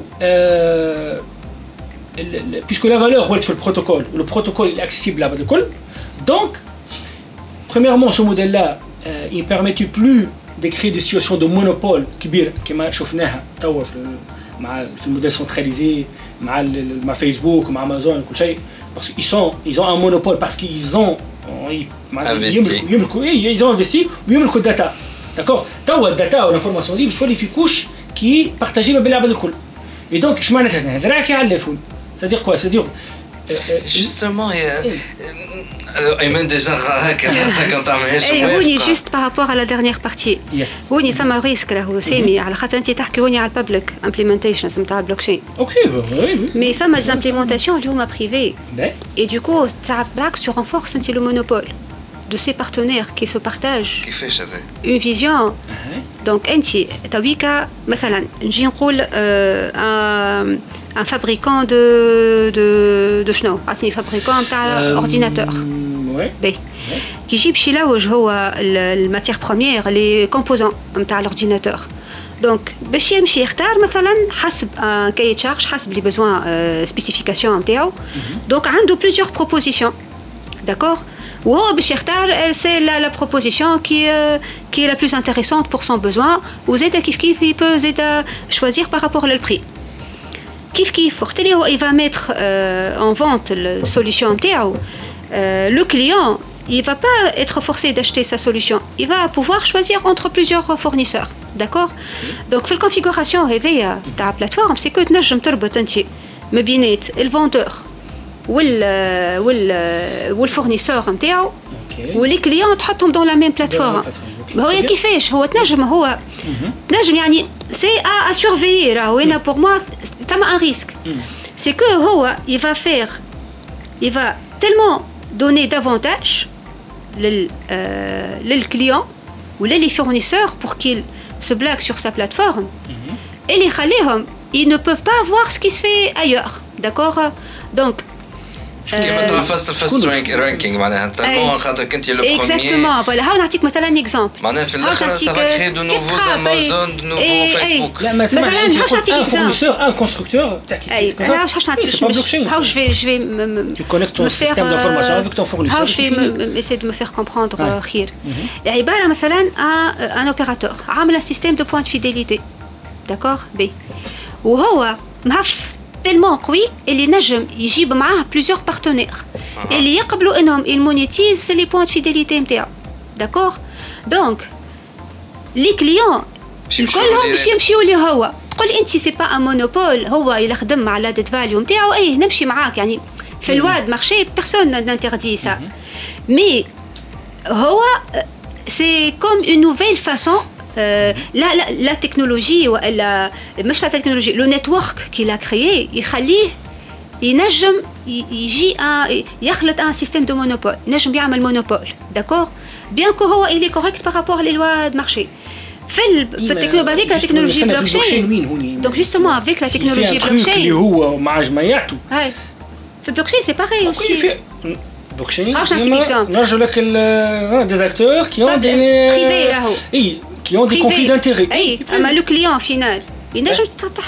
Speaker 3: puisque la valeur est sur le protocole, le protocole est accessible là-bas de col. Donc, premièrement, ce modèle-là, il ne permettait plus de créer des situations de monopole qui m'a chauffé في الموديل centralisé, مع Facebook, مع Amazon, كل شيء, parce qu'ils ont un monopole parce qu'ils ont
Speaker 5: investi.
Speaker 3: Ils ont investi ويملكوا الداتا. D'accord. توا الداتا والانفورماسيون دي بتولي في كوش qui partagé ما بين العباد الكل. Et donc, je m'en ai dit, راكي على الفون. C'est-à-dire quoi? C'est-à-dire
Speaker 5: justement Ayman déjà هكا تحسها كنت تعملهاش
Speaker 4: هوني juste par rapport à la dernière partie. هوني ثم ريسك راهو سامي على خاطر انت تحكي هوني على البابليك امبليمنتيشن نتاع البلوكشين.
Speaker 3: اوكي وي
Speaker 4: مي ثم ليزامبليمونطاسيون اللي هما بريفي. Et du coup, ça بالعكس tu renforces انت le monopole de ces partenaires qui se partagent
Speaker 5: كيفاش هذا
Speaker 4: une vision. Donc انت تويكا مثلا نجي نقول un fabricant de شنو عطيني fabricant تاع ordinateur باهي كي يجيب شي لوج هو الماتير بروميير لي كومبوزون نتاع الاورديناتور دونك باش يمشي يختار مثلا حسب كاي تشارج حسب لي بيزوان سبيسيفيكاسيون نتاعو دونك عنده بليزيور بروبوزيسيون داكور وهو باش يختار سي لا بروبوزيسيون كي est la plus intéressante pour son besoin وزيدا كيف il peut زيدا choisir par rapport au prix كيف وقت اللي هو il va mettre en vente la solution نتاعو le client il va pas être forcé d'acheter sa solution il va pouvoir choisir entre plusieurs fournisseurs d'accord donc في الconfiguration هذيا تاع plateforme c'est que تنجم تربط انت ما بينات الفوندور والفورنيسور نتاعو ولي كليون تحطهم dans la même plateforme هو كيفاش هو تنجم يعني c'est à surveiller راهو هنا pour moi ça m'a un risque c'est que هو il va tellement donner davantage لل client ou les fournisseurs pour qu'ils se blaguent sur sa plateforme et les خليهم ils ne peuvent pas voir ce qui se fait ailleurs d'accord donc
Speaker 5: كيما تاع فاست رانكينغ معناها تالمون خاطر كنتي لو بروميير
Speaker 4: اكزاكتومون فوالا هاو نعطيك مثلا اكزامبل
Speaker 5: معناها في الاخر سافا كري دو نوفوز امازون دو نوفو فيسبوك
Speaker 3: لا ما
Speaker 4: مثلا باش نعطيك اكزامبل
Speaker 3: ان كونستركتور تاعك
Speaker 4: باش نعطيك هاو جو
Speaker 3: tu connectes ton système d'information avec ton fournisseur
Speaker 4: هاو جو essayer de me faire comprendre خير عباره مثلا ان اوبيراتور عامل سيستيم دو بوينت فيديليتي داكور بي وهو مهف تellement قوي اللي نجم يجيب معاه بليزيور بارتنير اللي يقبلوا انهم يمونيتيز لي بوينت فيديليتي نتاعو داكور دونك لي كليون كلهم باش يمشيو لي هو تقول انت سي با ان مونوبول هو اللي خدم مع لادت فاليو نتاعو اي نمشي معاك يعني في الواد مارشي بيرسون نانتردي سا مي هو سي كوم اون نوفيل فاسون لا تكنولوجي ولا مش لا تكنولوجي لو نتورك كي لا كريي يخليه ينجم يجي يخلط ان سيستيم دو مونوبول ينجم يعمل مونوبول داكور بيان كو هو اللي كوريكت بارابور لي لوا دو مارشي في التكنولوجي بلوكشين دونك جوستومون افيك لا تكنولوجي بلوكشين
Speaker 3: اللي هو مع جماعته
Speaker 4: هاي في البلوكشين سي باغي اوسي
Speaker 3: بلوكشين نرجو لك دي اكتور كي اون دي
Speaker 4: بريفي راهو
Speaker 3: اي qui ont des conflits d'intérêts.
Speaker 4: اي اما لو كليون فينال ينجم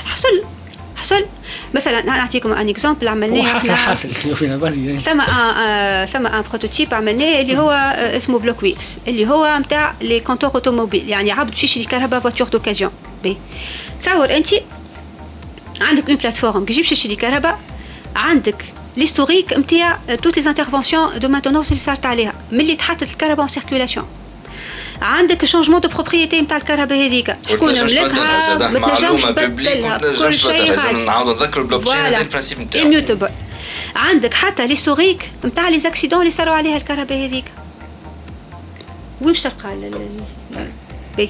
Speaker 4: حصل مثلا نعطيكم ان اكزامبل عملناه
Speaker 3: حاصل فينا بازي
Speaker 4: ثم ان بروتوتيب عملناه اللي هو اسمه بلوك ويكس اللي هو نتاع لي كونتور اوتوموبيل يعني عبد باش يشري كهرباء فواتور دوكازيون بي تصور انت عندك اون بلاتفورم كي تجيب تشري كهرباء عندك ليستوريك نتاع توت لي انترفونسيون دو مانتونونس اللي صارت عليها ملي تحطت الكهرباء ان سيركيولاسيون عندك شونجمون دو بروبريتي نتاع الكهرباء هذيك شكون ملكها ما تنجمش تبدلها كل شيء
Speaker 5: لازم نعاودوا نذكروا البلوكشين هذا البرانسيب نتاعو
Speaker 4: اميوتابل عندك حتى ليستوريك نتاع لي زاكسيدون اللي صاروا عليها الكهرباء هذيك وين باش تلقى بي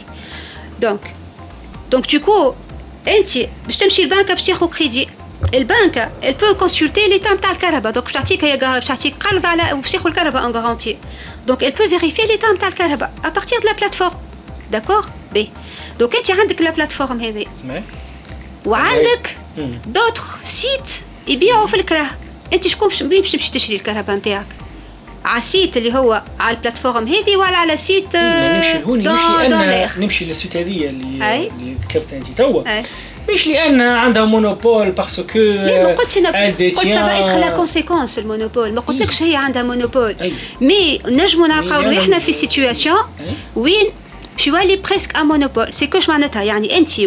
Speaker 4: دونك دوكو انت باش تمشي للبنكه باش تاخذ كريدي البنكه elle peut consulter l'état نتاع الكهرباء دونك باش تعطيك قرض على باش تاخذ الكهرباء ان غارونتي donc elle peut vérifier l'état نتاع الكهرباء à partir de la plateforme d'accord بي donc انت عندك لا بلاتفورم هذه وعندك دوتر سيت يبيعوا في الكراه انت شكون باش تمشي تشري الكهرباء نتاعك على السيت اللي هو على البلاتفورم هذه ولا على سيت
Speaker 3: نمشي للسيت هذه اللي ذكرتها انت توا مش لأن عندها مونوبول باسكو
Speaker 4: ما قلتش قلت سافا اتر لا كونسيكونس المونوبول ما قلتلكش هي عندها مونوبول مي نجمو نلقاو احنا في سيتوياسيون وين باش يولي بريسك ان مونوبول سي كوش معناتها يعني انت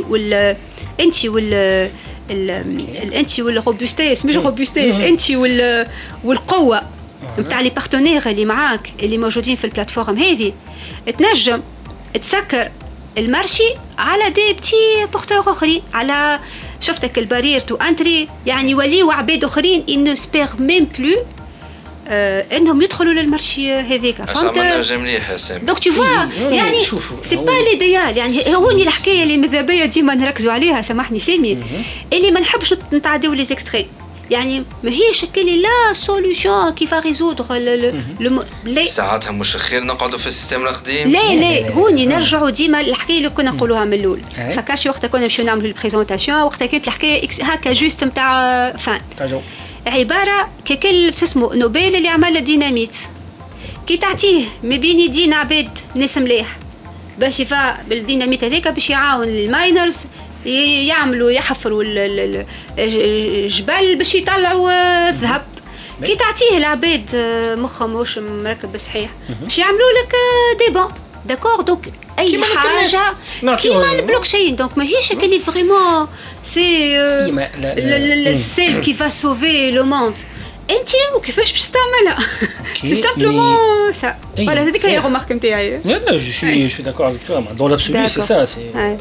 Speaker 4: والروبوستيس مش روبوستيس انت والقوه نتاع لي بارتنير اللي معاك اللي موجودين في البلاتفورم هذه تنجم تسكر المارشي على دي بتي بورتور اخرين على شفتك البارير تو انتري يعني يوليو عباد اخرين ان سبير ميم بلو انهم يدخلوا للمارشي هذيك
Speaker 5: فهمت مليح سامي
Speaker 4: دونك تو فوا يعني سي با ليديال يعني هوني الحكايه اللي مذابيه ديما نركزوا عليها سامحني سامي اللي ما نحبش نتعداو لي زيكستري يعني ما هيش كلي لا سوليوشن كيف ريزودر
Speaker 5: ساعتها مش خير نقعدوا في السيستم القديم
Speaker 4: لا هوني نرجعوا ديما الحكايه اللي كنا نقولوها من الاول فكرش وقت كنا نمشيو نعملوا البريزونطاسيون وقت كانت الحكايه هكا جوست نتاع فان عباره ككل تسمو نوبل اللي عمل الديناميت كي تعطيه ما بين يدين عباد ناس مليح باش يفا بالديناميت هذاك باش يعاون الماينرز يعملوا يحفروا الجبال باش يطلعوا الذهب كي تعطيه العباد مخهم مش مركب صحيح باش يعملوا لك دي بون داكور دونك اي حاجه كيما البلوكشين دونك ماهيش اللي فريمون سي السيل كي فا سوفي لو موند انت وكيفاش باش تستعملها سي سامبلومون سا فوالا هذيك هي الرمارك نتاعي
Speaker 3: لا جو سوي داكور افيك توا دون لابسولو سي سا سي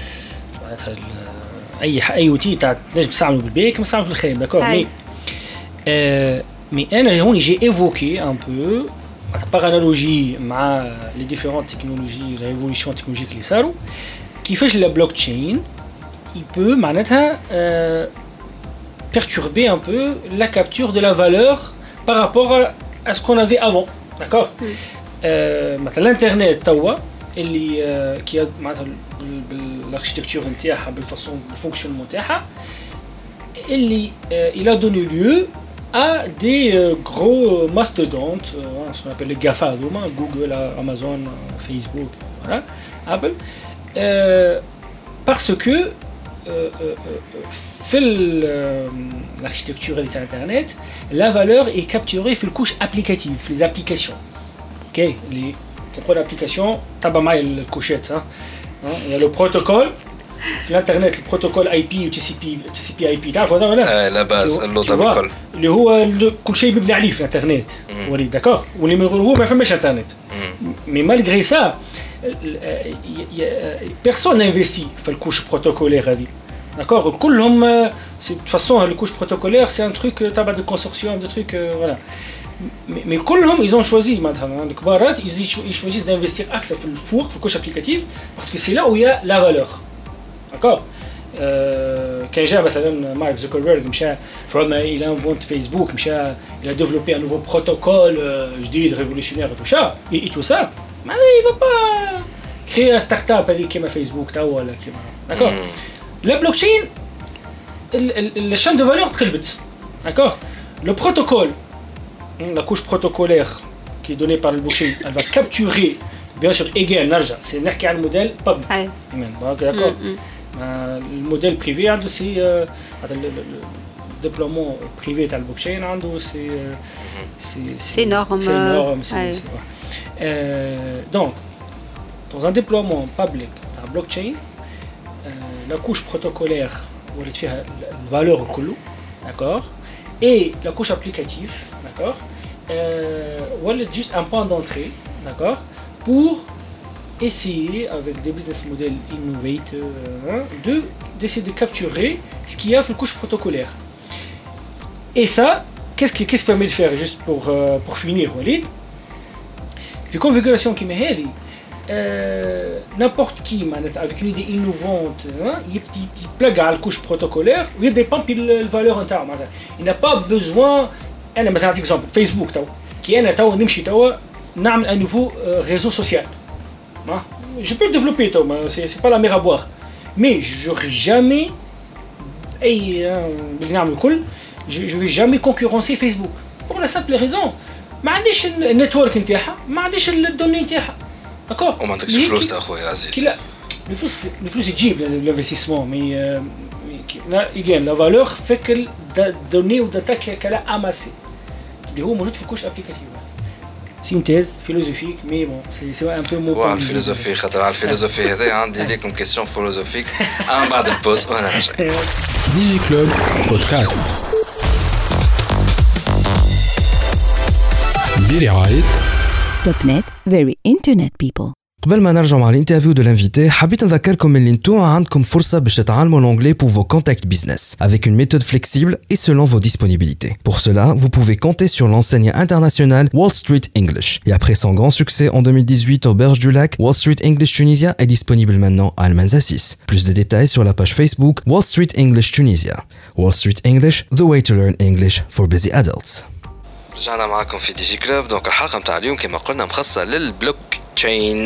Speaker 3: اي اوتي تاع تنجم تستعمله بالبيك ما تستعمله بالخير داكور مي انا هوني جي ايفوكي ان بو par analogie مع les différentes technologies la évolution technologique اللي صاروا كيفاش la blockchain il peut معناتها perturber un peu la capture de la valeur par rapport à ce qu'on avait avant d'accord مثلا الانترنت توا اللي كي معناتها بالاركتيكتور نتاعها بالفاصون بالفونكسيونمون نتاعها اللي il a donné lieu à des gros mastodontes, ce qu'on appelle les GAFA, Google, Amazon, Facebook, voilà, Apple, parce que l'architecture d'Internet, la valeur est capturée sur la couche applicative, les applications. Ok, tu l'application, tu as le couchette, il y a le protocole. في الانترنت البروتوكول اي بي و تي سي بي اي بي تعرف هذا ولا
Speaker 5: لا باز اللوطه
Speaker 3: اللي هو كل شيء مبني عليه في الانترنت ولي داكور واللي من غير هو ما فماش انترنت مي مالغري سا بيرسون نانفيستي في الكوش بروتوكولير هذه داكور كلهم سي دو فاسون الكوش بروتوكولير سي ان تروك تبع دو كونسورسيوم دو تروك فوالا مي كلهم ils ont choisi مثلا الكبارات ils choisissent d'investir اكثر في الفور في الكوش ابليكاتيف parce que c'est là où il y a la valeur. D'accord. Quand j'ai مثلا Mark Zuckerberg مشى فرضنا il a inventé Facebook مشى il a développé un nouveau protocole جديد révolutionnaire et tout ça et tout ça mais il va pas créer un start-up هذيك كيما فيسبوك تاع ولا كيما d'accord. La blockchain la chaîne de valeur تقلبت d'accord. Le protocole la couche protocolaire qui est donnée par le blockchain elle va capturer bien sûr égal نرجع c'est نحكي على الموديل public d'accord. Le modèle privé c'est le déploiement privé de la blockchain
Speaker 4: c'est énorme.
Speaker 3: Donc dans un déploiement public de la blockchain la couche protocolaire où il y a la valeur d'accord et la couche applicative d'accord est juste un point d'entrée d'accord pour essayer avec des business models innovateurs d'essayer de capturer ce qu'il y a dans la couche protocolaire. Et ça, qu'est-ce qui permet de faire juste pour finir, Walid? La configuration qui m'est dit, n'importe qui avec une idée innovante, il plug à la couche protocolaire, il dépend de la valeur interne. Il n'a pas besoin, par exemple, Facebook, qui est un nouveau réseau social. Je peux le développer, c'est pas la mer à boire. Mais je n'aurai jamais, je vais jamais concurrencer Facebook. Pour la simple raison, ما عنديش النتورك نتاعها، ما عنديش الدوني نتاعها. D'accord.
Speaker 5: وما عندكش فلوس أخويا عزيز.
Speaker 3: لا، الفلوس تجيب l'investissement, mais la valeur fait que les données ou data qu'elle a amassé. اللي هو موجود في الكوش أبليكاتيف. C'est une thèse philosophique, mais bon, c'est un peu mot.
Speaker 5: Ouais, philosophie, خاطر على الفلسفة هذه عندي لكم question philosophique. بعد البوز وأنا راجع.
Speaker 1: ديجي كلوب بودكاست برعاية
Speaker 2: توب نت very internet people.
Speaker 6: قبل ما نرجع مع الانترفيو دو l'invité حبيت نذكركم اللي نتوما عندكم فرصة باش تتعلموا l'anglais pour vos contacts business avec une méthode flexible et selon vos disponibilités. Pour cela, vous pouvez compter sur l'enseigne internationale Wall Street English. Et après son grand succès en 2018 aux Berges du Lac, Wall Street English Tunisia est disponible maintenant à Almanza 6. Plus de détails sur la page Facebook Wall Street English Tunisia. Wall Street English, the way to learn English for busy adults.
Speaker 5: رجعنا معكم في دي جي كلوب. دونك الحلقة متاع اليوم كما قلنا مخصصة للبلوك تشين.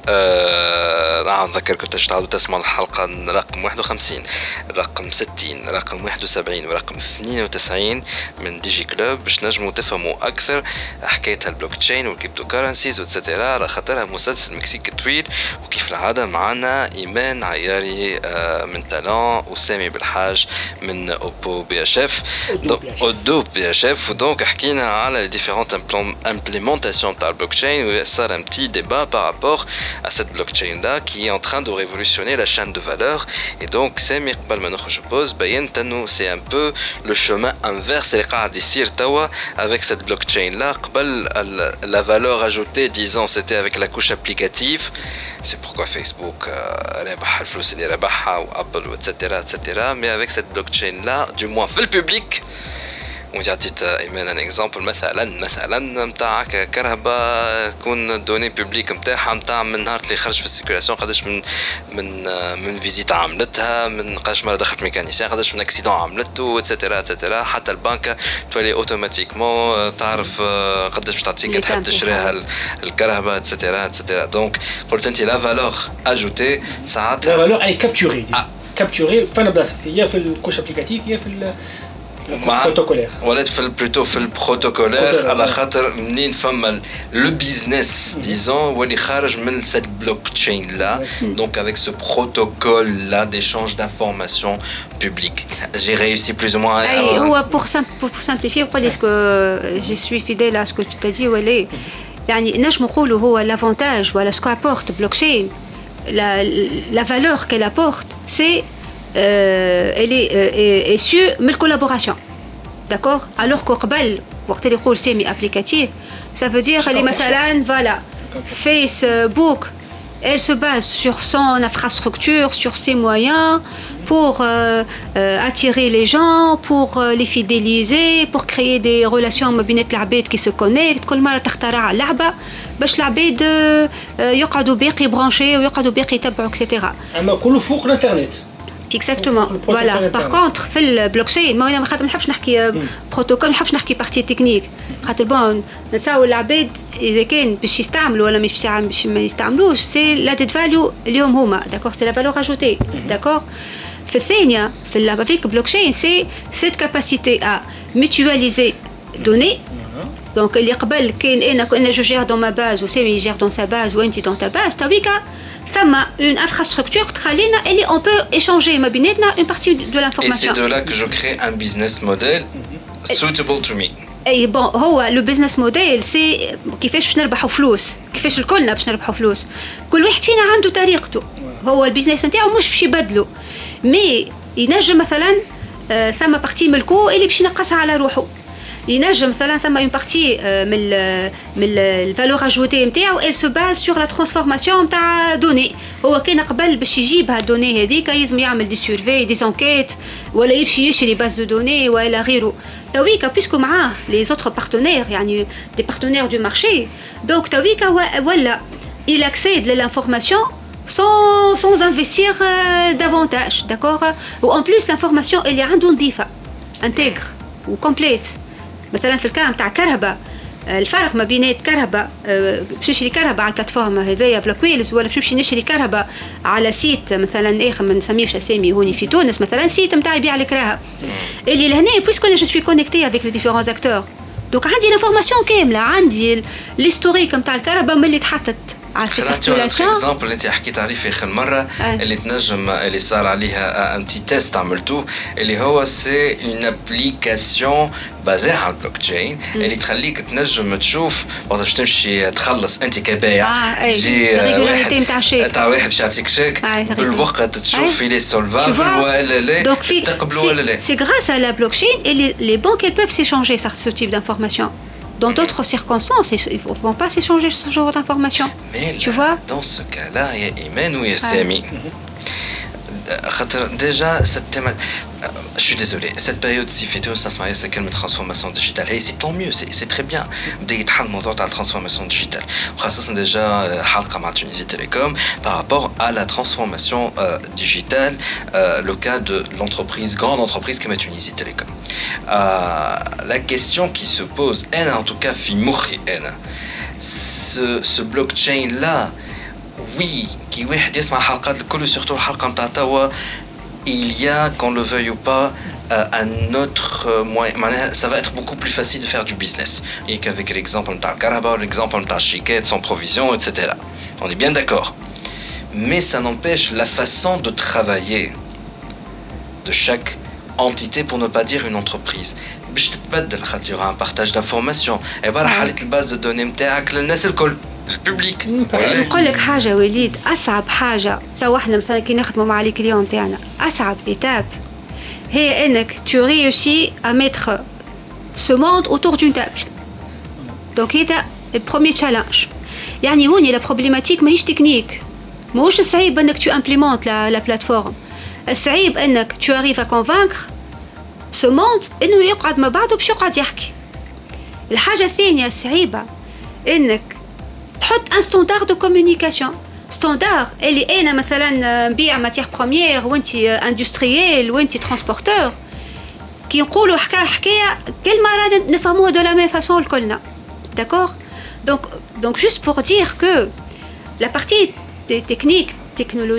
Speaker 5: نذكركم تعالوا تسمعوا الحلقة رقم 51 رقم 60 رقم 71 ورقم 92 من دي جي كلوب باش نجموا تفهموا أكثر حكاية البلوك تشين والكريبتو كارنسيز وتسترا على خاطرها مسلسل مكسيكي طويل. وكيف العادة معنا إيمان عياري من تالون وسامي بالحاج من أوبو بي اش اف أودو بي اش اف. ودونك حكينا على les différentes implémentations تاع البلوك تشين وصار un petit débat par rapport à cette blockchain là qui est en train de révolutionner la chaîne de valeur. Et donc Samir قبل ما نخرج pause بينت انه c'est un peu le chemin inverse اللي قاعد يصير توا avec cette blockchain là. قبل la valeur ajoutée disons c'était avec la couche applicative. C'est pourquoi Facebook ربح الفلوس اللي ربحها وابل etc. mais avec cette blockchain là du moins في الببليك. وجاتيت ايمان ان اكزامبل مثلا نتاع كهرباء تكون دوني بوبليك نتاعها نتاع من نهار اللي خرج في السيركيلاسيون قداش من فيزيت عملتها من قداش مره دخلت ميكانيسيان قداش من اكسيدون عملته etc. حتى البنكه تولي اوتوماتيكمون تعرف قداش باش تعطيك تحب تشريها الكهرباء etc. دونك قلت انت لا فالور اجوتي ساعات
Speaker 3: لا فالور اي كابتوري فانا بلاصه هي في الكوش ابليكاتيف هي في بروتوكولير
Speaker 5: ولات في بلوتو في البروتوكولير على خاطر منين فما لو بيزنس ديزون واللي خارج من cette blockchain là donc avec ce protocole là d'échange d'informations publiques j'ai réussi plus ou moins
Speaker 4: هو pour simplifier pourquoi est-ce que je suis fidèle à ce que tu t'as dit Walé يعني نجم نقولوا هو l'avantage voilà ce qu'apporte blockchain la valeur qu'elle apporte c'est elle est issue de la collaboration d'accord alors qu'au قبل وقت اللي يقول semi applicatif ça veut dire les مثلا voilà Facebook elle se base sur son infrastructure sur ses moyens pour attirer les gens pour les fidéliser pour créer des relations ما بين العباد qui se connectent كل مرة تخترع لعبة باش العباد يقعدوا باقي برانشي ويقعدوا باقي يتبعوا etc.
Speaker 3: أما كله فوق الإنترنت.
Speaker 4: Exactement. Voilà. Par contre, في البلوكشين ما انا خاطر ما نحبش نحكي بروتوكول ما نحبش نحكي بارتي تكنيك خاطر بون نساو العباد اذا كان باش يستعملوا ولا مش باش ما يستعملوش سي لا ديت فاليو اليوم هما داكور سي لا فالور اجوتي داكور في الثانيه في الافيك بلوكشين سي سيت كاباسيتي ا ميتواليزي دوني دونك اللي قبل كاين انا جو جير دون ما باز وسامي يجير دون سا باز وانت دون تا باز تويكا ثم une infrastructure تخلينا اللي on peut échanger ما بيناتنا une partie de l'information.
Speaker 5: Et c'est de là que je crée un business model suitable to me.
Speaker 4: اي بون هو لو بزنس موديل سي كيفاش باش نربحوا فلوس كيفاش الكلنا باش نربحوا فلوس كل واحد فينا عنده طريقته هو البيزنس نتاعو مش باش يبدلوا مي ينجم مثلا ثم بارتي ملكو اللي باش ينقصها على روحه ينجم مثلا ثم اون بارتي من الفالور اجوتي نتاعو ال سو باز سور لا ترانسفورماسيون نتاع دوني هو كان قبل باش يجيب هالدوني هذيك لازم يعمل دي سيرفي دي زانكيت ولا يمشي يشري باز دو دوني ولا غيره تويكا بيسكو معاه لي زوتر بارتنير يعني دي بارتنير دو مارشي دونك تويكا ولا il accède à l'information sans investir davantage d'accord ou en plus l'information elle est عنده نظيفه intègre ou complète مثلا في الكلام تاع كهرباء الفرق ما بين كهرباء باش نشري كهرباء على البلاتفورم هذايا بلوكويلز ولا باش نمشي نشري كهرباء على سيت مثلا ما نسميش اسامي هوني في تونس مثلا سيت نتاع يبيع لك راها اللي لهنا بويسكو جو سوي كونيكتي افيك لي ديفيرونس اكتور دونك عندي لافورماسيون كامله عندي ليستوريك نتاع الكهرباء ملي تحطت
Speaker 5: خاطر اكزامبل اللي انت حكيت عليه في اخر مره اللي تنجم اللي صار عليها ان بتي تيست عملته اللي هو سي اون ابليكاسيون بازي على البلوك تشين اللي تخليك تنجم تشوف وقت باش تمشي تخلص انت كبايع تجي تاع واحد باش يعطيك شيك بالوقت تشوف لي سولفابل ولا لا تستقبلوا ولا لا
Speaker 4: سي غراس ا لا بلوك تشين et les banques elles peuvent s'échanger ce type d'informations. Dans d'autres circonstances, ils ne vont pas s'échanger ce genre d'informations.
Speaker 5: Mais
Speaker 4: tu vois
Speaker 5: dans ce cas-là, il y a Imen ou il y a Sami. Déjà, cette thématique... Je suis désolé, cette période-ci, ça se marie, c'est quelle transformation digitale. Et c'est tant mieux, c'est très bien. Dès qu'il y a la transformation digitale. Ça, c'est déjà Halka Tunisie Télécom par rapport à la transformation digitale, le cas de l'entreprise, grande entreprise comme Tunisie Télécom. La question qui se pose, en tout cas, ce blockchain-là, oui, qui واحد يسمع حلقات الكل surtout الحلقة نتاع توا il y a qu'on le veuille ou pas un autre moyen ça va être beaucoup plus facile de faire du business et qu'avec l'exemple نتاع الكهرباء l'exemple نتاع الشيكات sans provision etc. On est bien d'accord mais ça n'empêche la façon de travailler de chaque entité pour ne pas dire une entreprise باش تتبدل خاطر un partage d'informations عبارة حالة الباز دو دوني نتاعك للناس الكل الببليك.
Speaker 4: نقول لك حاجه وليد اصعب حاجه تو احنا مثلا كي نخدموا مع لي كليون تاعنا اصعب ايتاب هي انك tu réussis à mettre ce monde autour d'une table donc هذا البروميير تشالنج يعني هوني لا بروبليماتيك ماهيش تكنيك ماهوش الصعيب انك tu implémentes la plateforme الصعيب انك tu arrives à convaincre ce monde انه يقعد مع بعضه باش يقعد يحكي الحاجه الثانيه الصعيبه انك تحط ان ستاندارد دو كومونيكاسيون ستاندارد اللي انا مثلا نبيع ماتيير بروميير وانت اندستريال وانت ترانسبورتور كي نقولوا حكايه كل مره نفهموها دو لا ميم فاسون الكلنا داكور دونك جوست بور دير كو لا بارتي تكنيك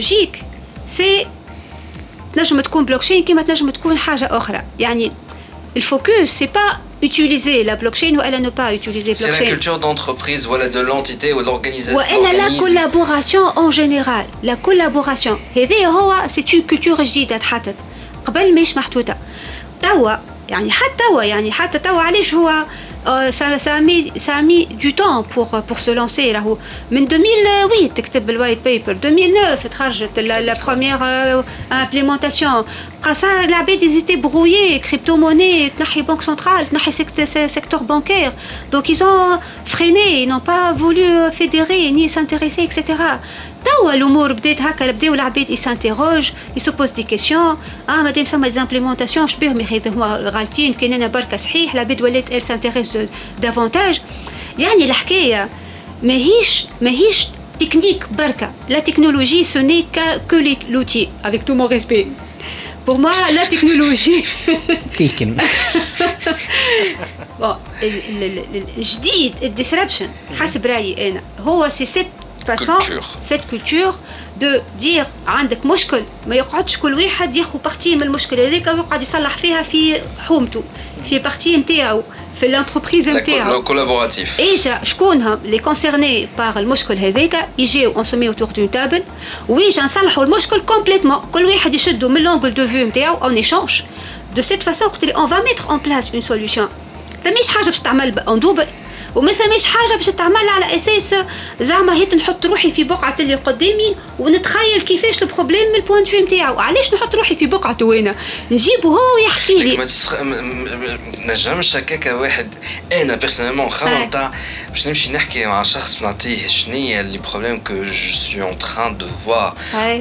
Speaker 4: تكنولوجيك سي تنجم تكون بلوكشين كيما تنجم تكون حاجه اخرى يعني le focus c'est pas utiliser la blockchain ou elle ne pas utiliser blockchain.
Speaker 5: C'est la culture d'entreprise ou de l'entité ou de l'organisation.
Speaker 4: Elle a la collaboration en général. La collaboration. C'est une culture جديدة اتحطت قبل مش محطوطة. توا يعني حتى توا علاش هو ça a mis du temps pour se lancer راهو من 2008 تكتب الوايت بيبر 2009 تخرجت la première implémentation قصا العباد ils étaient brouillés crypto-monnaie تنحي banque centrale تنحي secteur bancaire donc ils ont freiné ils n'ont pas voulu fédérer ni s'intéresser etc. توا الامور بدات هكا بداو العباد يسانتيروج يسوبوز دي كيسيون مادام سما دي امبليمونطاسيون شبيهم هما غالطين كاين انا بركه صحيح العباد ولات ال سانتيريس دافونتاج يعني الحكايه ماهيش تكنيك بركه لا تكنولوجي سو ني كو لوتي افيك تو مون ريسبي pour moi la technologie
Speaker 3: تيكن
Speaker 4: الجديد الديسربشن حسب رايي انا هو سي cette culture de dire عندك مشكل ما يقعدش كل واحد ياخذ بارتي من المشكل هذيك ويقعد يصلح فيها في حومته في بارتي نتاعو في الانتربريز نتاعو
Speaker 5: كولابوراتيف
Speaker 4: اجا شكونهم لي كونسيرني بار المشكل هذاك يجيو اون سومي اوتور دون تابل ويجا نصلحوا المشكل كومبليتمون كل واحد يشدوا من لونغل دو فيو نتاعو اون ايشانج دو سيت فاسون قلت لي اون فا ميتر اون بلاس اون سوليوشن ثماش حاجه باش تعمل اون دوبل وما ثماش حاجه باش تعمل على اساس زعما هيت نحط روحي في بقعه اللي قدامي ونتخيل كيفاش البروبليم من البوينت فيو نتاعو علاش نحط روحي في بقعته وانا نجيبه هو يحكي لي
Speaker 5: نجمش هكاكا واحد انا بيرسونيلمون خمم تاع باش نمشي نحكي مع شخص نعطيه شنيا لي بروبليم كو جو سوي اون تران دو فوار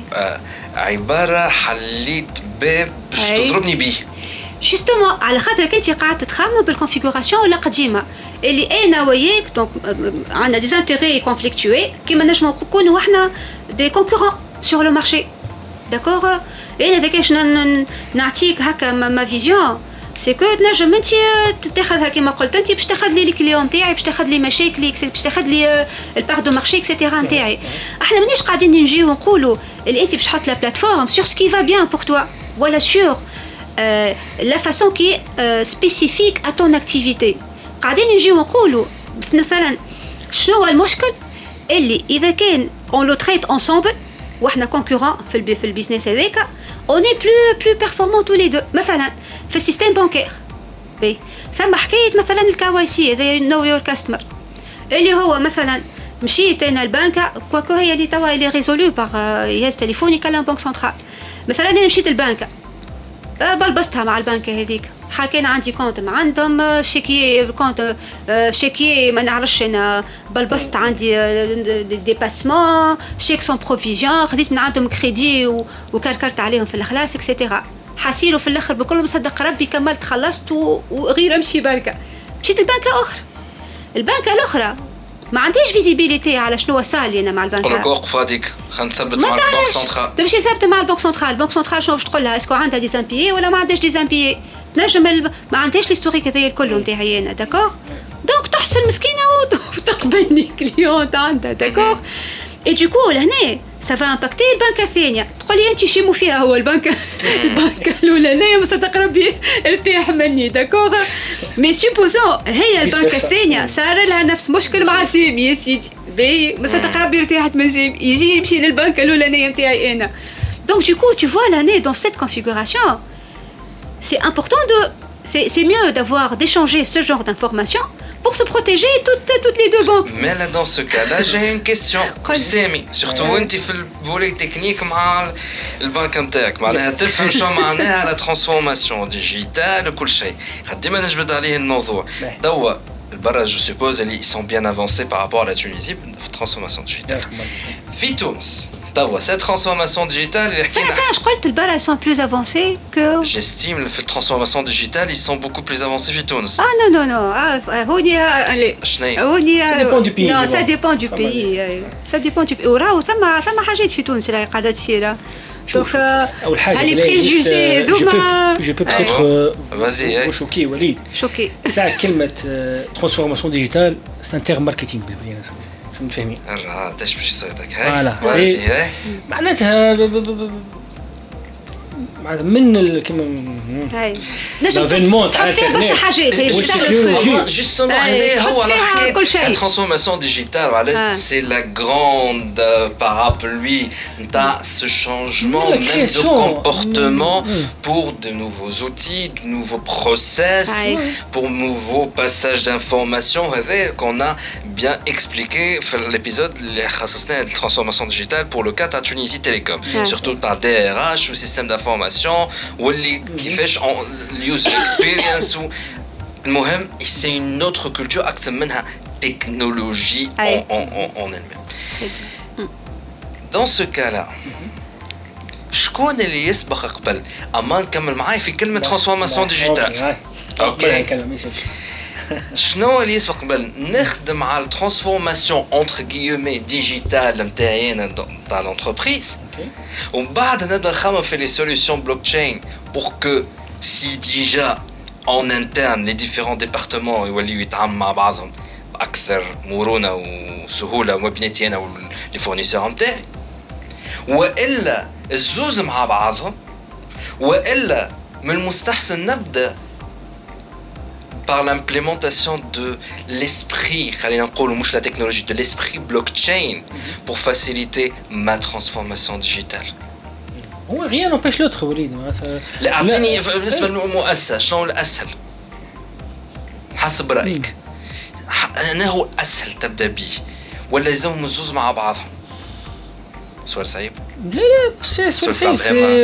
Speaker 5: عباره حليت باب باش تضربني بيه
Speaker 4: جوستومون على خاطر كنت قاعده تخمم بالكونفيغوراسيون ولا قديمه اللي انا وياك دونك عندنا دي انتيري كونفليكتوي كيما نجمو نكونوا احنا دي كونكورون سور لو مارشي داكوغ انا داكاش نعطيك هكا ما فيزيون سي كو تنجم انت تاخذها كيما قلت انت باش تاخذ لي الكليون نتاعي باش تاخذ لي مشاكلي باش تاخذ لي البار دو مارشي اكسيتيرا نتاعي احنا مانيش قاعدين نجيو ونقولوا اللي انت باش تحط لا بلاتفورم سور سكي فا بيان بور توا ولا سور la façon qui est spécifique à ton activité. قاعدين نجيو نقولوا مثلا شنو هو المشكل اللي إذا كان on le traite ensemble وإحنا concurrents في البيزنس هذاك on est plus performants tous les deux. مثلا في السيستم بانكير ثم حكاية مثلا الKYC هذا know your customer اللي هو مثلا مشيت أنا البنكة كوكو هي اللي توا اللي ريزولو باغ جهاز تليفوني كلام بنك سنترال مثلا أنا مشيت البنكة بلبستها مع البنكة هذيك حكينا عندي كونت مع عندهم شيكي كونت شيكي ما نعرفش انا بلبست عندي ديباسمون شيك سون بروفيزيون خديت من عندهم كريدي وكركرت عليهم في الخلاص اكسيتيرا حاسيلو في الاخر بكل مصدق ربي كملت خلصت وغير امشي بركه مشيت البنكه الاخرى ما عنديش فيزيبيليتي على شنو صار لي انا مع البنك.
Speaker 5: قول لك وقف هذيك خلينا نثبت مع البنك سنترال.
Speaker 4: تمشي ثابته مع البنك سنترال، البنك سنترال شنو باش تقول لها اسكو عندها دي زامبيي ولا ما عندهاش دي زامبيي؟ تنجم ما عندهاش ليستوريك هذايا الكل نتاعي انا داكور. دونك تحصل مسكينه وتقبلني كليونت عندها داكور. اي دو كو لهنا سافا امباكتي البنكه الثانيه تقول لي انت شي مو فيها هو البنكه الاولانيه بس تقربي ارتاح مني داكور. مي سوبوزون هي البنكه الثانيه صار لها نفس مشكل مع سامي يا سيدي باهي بس تقربي ارتاحت من سامي يجي يمشي للبنكه الاولانيه نتاعي انا. دونك دو كو tu vois l'année dans cette configuration c'est important de c'est mieux d'avoir d'échanger ce genre d'informations pour se protéger toutes les deux banques.
Speaker 5: Mais là dans ce cas-là, j'ai une question. Sami, surtout انت في الفولي تكنيك مع البنك نتاعك معناها تفهم شو معناها لا ترانسفورماسيون ديجيتال وكل شيء. ديما نجبد عليه الموضوع. توا البرا je suppose ils sont bien avancés par rapport à la Tunisie في الترانسفورماسيون ديجيتال. في تونس توا cette transformation digitale اللي حكينا
Speaker 4: ça je crois que البرا ils sont plus avancés que
Speaker 5: j'estime في الترانسفورماسيون digitale ils sont beaucoup plus avancés في تونس.
Speaker 4: non هوني هوني
Speaker 3: ça dépend du pays.
Speaker 4: non ça dépend du pays ça dépend du pays وراهو ثم حاجات في تونس راهي قاعده تصير.
Speaker 3: شوف اول حاجه
Speaker 4: les préjugés
Speaker 3: je peux peut-être
Speaker 5: vas-y
Speaker 3: choquer وليد ساعه كلمه transformation digitale c'est un terme marketing بالنسبه لي انا فهمتني
Speaker 5: ايش باش يصيدك
Speaker 3: هاي معناتها من كيما
Speaker 4: نجم تحط فيها برشا حاجات
Speaker 5: جوستومون هذا هو الحكايه الترانسفورماسيون ديجيتال وعلاش سي لا غروند parapluie نتاع ce changement même de comportement pour de nouveaux outils, de nouveaux process, pour nouveaux passages d'informations qu'on a bien expliqué dans l'épisode اللي خصصناه الترانسفورماسيون ديجيتال pour le cas de Tunisie Télécom, surtout par DRH ou système d'information واللي كيفاش اليوزر اكسبيرينس المهم سي une autre culture اكثر منها تكنولوجي en elle-même. Dans ce cas-là شكون اللي يسبق قبل؟ اما نكمل معاي في كلمه ترانسفورماسيون ديجيتال. اوكي شنو اللي يسبق قبل؟ نخدم على الترانسفورماسيون انتر غيومي ديجيتال نتاعنا تاع لونتربريز ومن بعد نبدا نخمم في لي سوليوشن بلوك تشين بور كو سي ديجا en interne les différents départements يوليو يتعاملوا مع بعضهم باكثر مرونه وسهوله ما بيناتي انا ولي فورنيسور نتاعي والا الزوز مع بعضهم والا من المستحسن نبدا par l'implémentation de l'esprit, la technologie, de l'esprit blockchain pour faciliter ma transformation digitale.
Speaker 3: Rien n'empêche l'autre, Walid.
Speaker 5: أعطيني بالنسبة للمؤسسة شنو الأسهل؟ حسب رأيك. أنا هو أسهل تبدأ به ولا يلزمهم الزوز مع بعضهم؟ سؤال صعيب؟
Speaker 3: لا سؤال صعيب.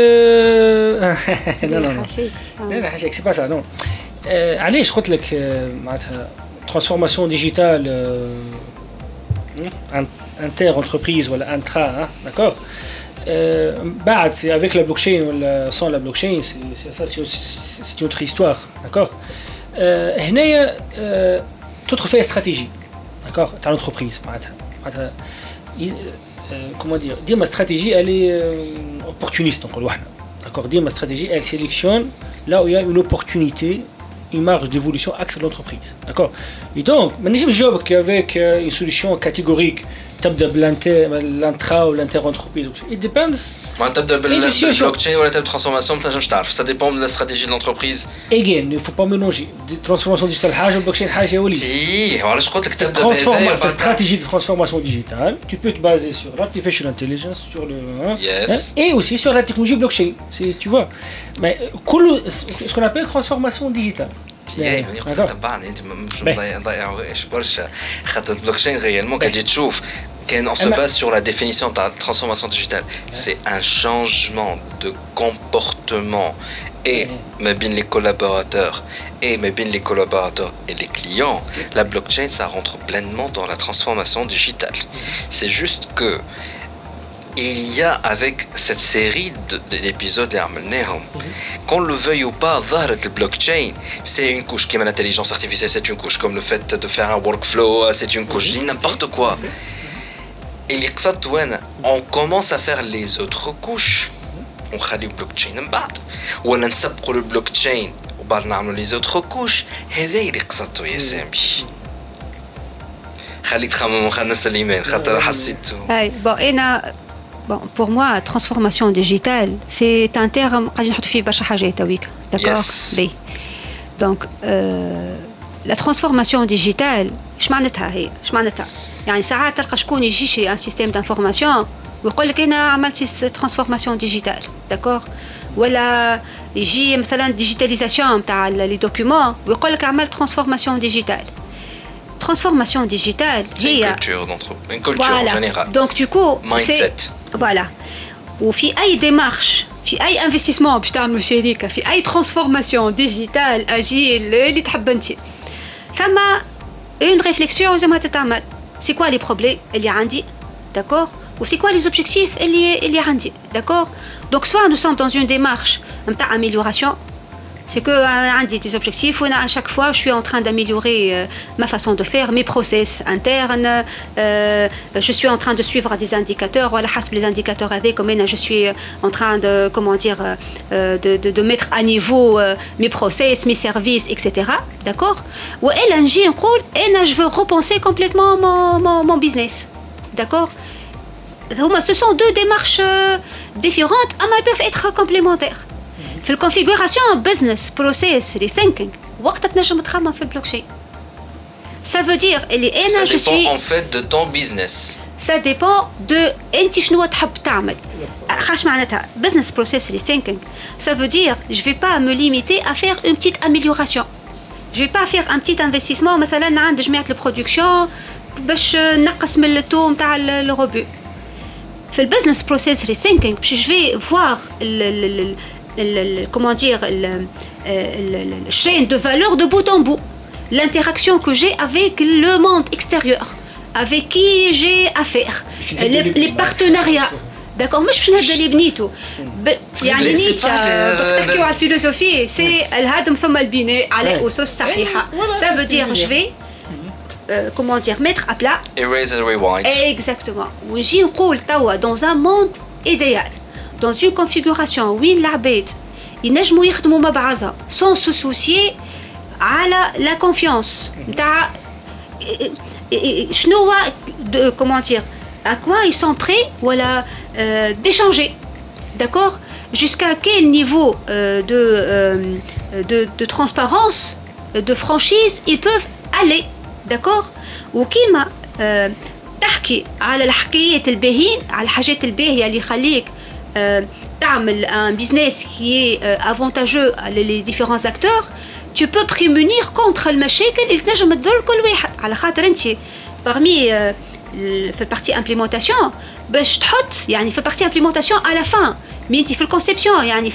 Speaker 3: لا حاشاك سي با سا نو. علاش قلت لك معناتها ترانسفورماسيون ديجيتال انتر انتربريز ولا انترا داكور بعد سي افيك لا بلوكشين ولا سون لا بلوكشين سي سا سي اوتر هيستوار داكور هنايا تدخل فيها استراتيجي داكور تاع لونتربريز معناتها كومون دير ديما استراتيجي الي اوبورتونيست نقولوا احنا داكور ديما استراتيجي ال سيليكسيون là où il y a une opportunité, une marge d'évolution axe de l'entreprise. D'accord? Et donc, je ne sais pas avec une solution catégorique, تبدأ بالانترا ou l'inter-entreprise. It depends.
Speaker 5: ما تبدأ بالبلوكتشين ولا تبدأ بالترانسفورماسيون ما تنجمش تعرف. Ça dépend de la stratégie de l'entreprise.
Speaker 3: Again, il ne faut pas mélanger. Transformation digitale حاجة والبلوكتشين حاجة يا وليد.
Speaker 5: إيه، وعلاش قلت لك تبدأ بهذا.
Speaker 3: في stratégie de transformation digitale, tu peux te baser sur l'artificial intelligence, sur le et aussi sur la technologie blockchain. Tu vois. Mais ce qu'on appelle transformation digitale.
Speaker 5: يعني تبعني انت مش مضيع ايش برشا خاطر البلوكشين ريالمون كي تجي تشوف كان on se base sur la définition de la transformation digitale c'est un changement de comportement et ما بين les collaborateurs et ما بين les collaborateurs et les clients la blockchain ça rentre pleinement dans la transformation digitale c'est juste que il y a avec cette série d'épisodes qu'on le veuille ou pas ظهرت le blockchain c'est une couche comme l'intelligence artificielle c'est une couche comme le fait de faire un workflow c'est une couche dis n'importe quoi et on commence à faire les autres couches on خلي blockchain من بعد ولا نسبقوا le blockchain وبعد نعملوا les autres couches هذا اللي قصدته يا سامي خليك تخمم خلينا نسال الايمان خاطر حسيت
Speaker 4: اي بون انا Bon, pour moi, transformation digitale, c'est un terme qui est fait par حاجات هويك, d'accord? Oui. Donc, la transformation digitale, ايش معناتها هي؟ ايش معناتها؟ يعني ساعات تلقى شكون يجي شي ان سيستيم دانفورماسيون ويقول لك انا عملت ترانسفورماسيون ديجيتال, d'accord? ولا يجي مثلا ديجيتاليزاسيون تاع لي دوكيومون ويقول لك عملت ترانسفورماسيون ديجيتال. Transformation digitale,
Speaker 5: c'est une culture générale.
Speaker 4: Donc du coup,
Speaker 5: mindset.
Speaker 4: Voilà. Ou في أي démarche, في أي investissement باش تعملوا شركة, في أي transformation digitale, agile, اللي تحب أنت. ثم une réflexion لازمها تتعمل. C'est quoi les problèmes اللي عندي, d'accord? Ou c'est quoi les objectifs اللي عندي, d'accord? Donc soit nous sommes dans une démarche نتاع amélioration. C'est que j'ai des objectifs où à chaque fois je suis en train d'améliorer ma façon de faire, mes process internes, je suis en train de suivre des indicateurs, voilà, les indicateurs avec comme je suis en train de de mettre à niveau mes process, mes services, etc. D'accord? Ou je veux repenser complètement mon business. D'accord? ce sont deux démarches différentes, mais elles peuvent être complémentaires. في الconfiguration business process rethinking وقت تنجم تخمم في البلوكشين. Ça veut dire اللي أنا je suis.
Speaker 5: Ça dépend en fait de ton business.
Speaker 4: Ça dépend de أنت شنو تحب تعمل. خاش معناتها business process rethinking. Ça veut dire je vais pas me limiter à faire une petite amélioration. Je vais pas faire un petit investissement مثلا عند جماعة البرودكسيون باش نقص من التو نتاع الروبو. في البزنس بروسيس ريثينكينغ باش je vais voir comment dire le chaîne de valeur de bout en bout, l'interaction que j'ai avec le monde extérieur, avec qui j'ai affaire, les partenariats. D'accord, مش باش نبدا اللي بنيته يعني نيتشه تحكيو على الفيلوسوفي سي الهدم ثم البناء على اسس صحيحه. Ça veut dire je vais comment dire mettre à plat
Speaker 5: erase and rewind.
Speaker 4: Exactement. ونجي نقول توا dans un monde idéal, dans une configuration وين العباد ينجموا يخدموا مع بعضها sans se soucier على la confiance نتاع شنو comment dire à quoi ils sont prêts voilà d'échanger. D'accord, jusqu'à quel niveau de transparence, de franchise ils peuvent aller. d'accord. وكيما تحكي على الحكايات الباهين على الحاجات الباهيه اللي يخليك تعمل un business qui est avantageux les différents acteurs, tu peux prémunir contre المشاكل اللي تنجم تضر كل واحد على خاطر انت parmi في البارتي امبليمونطاسيون باش تحط يعني في البارتي امبليمونطاسيون على فان مي انت في الكونسيبسيون يعني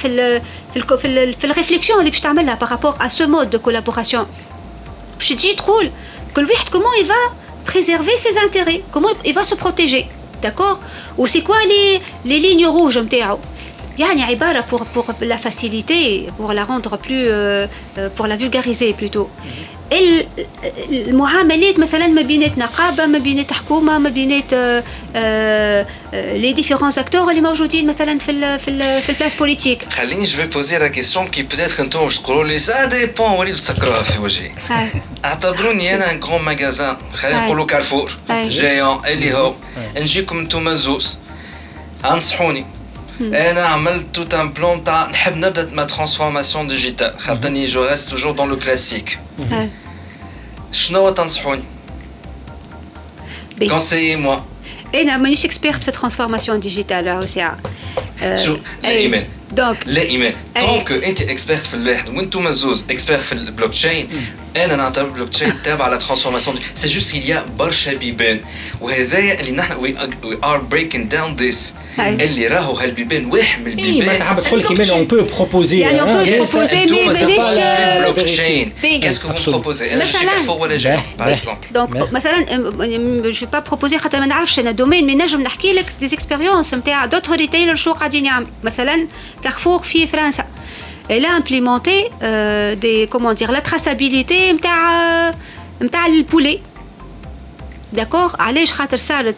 Speaker 4: في الريفليكسيون اللي باش تعملها بارابور ا سو مود دو كولابوراسيون باش تجي تقول كل واحد comment il va préserver ses intérêts, comment il va se protéger. D'accord, ou c'est quoi les lignes rouges نتاعو يعني عبارة pour la faciliter, pour la rendre plus pour la vulgariser plutôt. المعاملات مثلا ما بينات نقابة ما بينات حكومة ما بينات les différents acteurs اللي موجودين مثلا في البلاس بوليتيك.
Speaker 5: خليني je vais poser la question qui peut-être انتم باش تقولوا لي ça dépend وليد تسكروها في وجهي. اعتبروني انا ان كرون ماغازان خلينا نقولوا كارفور جايون اللي هو نجيكم انتم زوز انصحوني. انا عملت توت ان بلان تاع نحب نبدا ما ترانسفورماسيون ديجيتال خاطرني جو ريست توجور دون لو كلاسيك. شنو تنصحوني؟ conseillez moi.
Speaker 4: انا مانيش اكسبيرت في الترانسفورماسيون ديجيتال راهو ساعه
Speaker 5: شو لا ايمان لا ايمان طونك انت اكسبيرت في الواحد وانتم زوز اكسبيرت في البلوك تشين. انا نعتبر البلوك تشين تابع على ترانسفورماسيون سي جوست il y a برشا بيبان وهذايا اللي نحن وي ار بريكينج داون ذيس اللي راهو هالبيبان واحد من البيبان.
Speaker 3: ما تحب تقول كيما اون بو بروبوزي
Speaker 4: يعني اون بو بروبوزي مي مانيش
Speaker 5: البلوك تشين كاسكو فو بروبوزي انا شي كارفور ولا جاي باغ اكزومبل
Speaker 4: دونك مثلا جو با بروبوزي خاطر ما نعرفش انا دومين مي نجم نحكي لك دي اكسبيريونس نتاع دوتر ريتيلر شنو قاعدين يعمل. مثلا كارفور في فرنسا elle a implémenté comment dire la traçabilité نتاع البولي. d'accord, علاش خاطر صار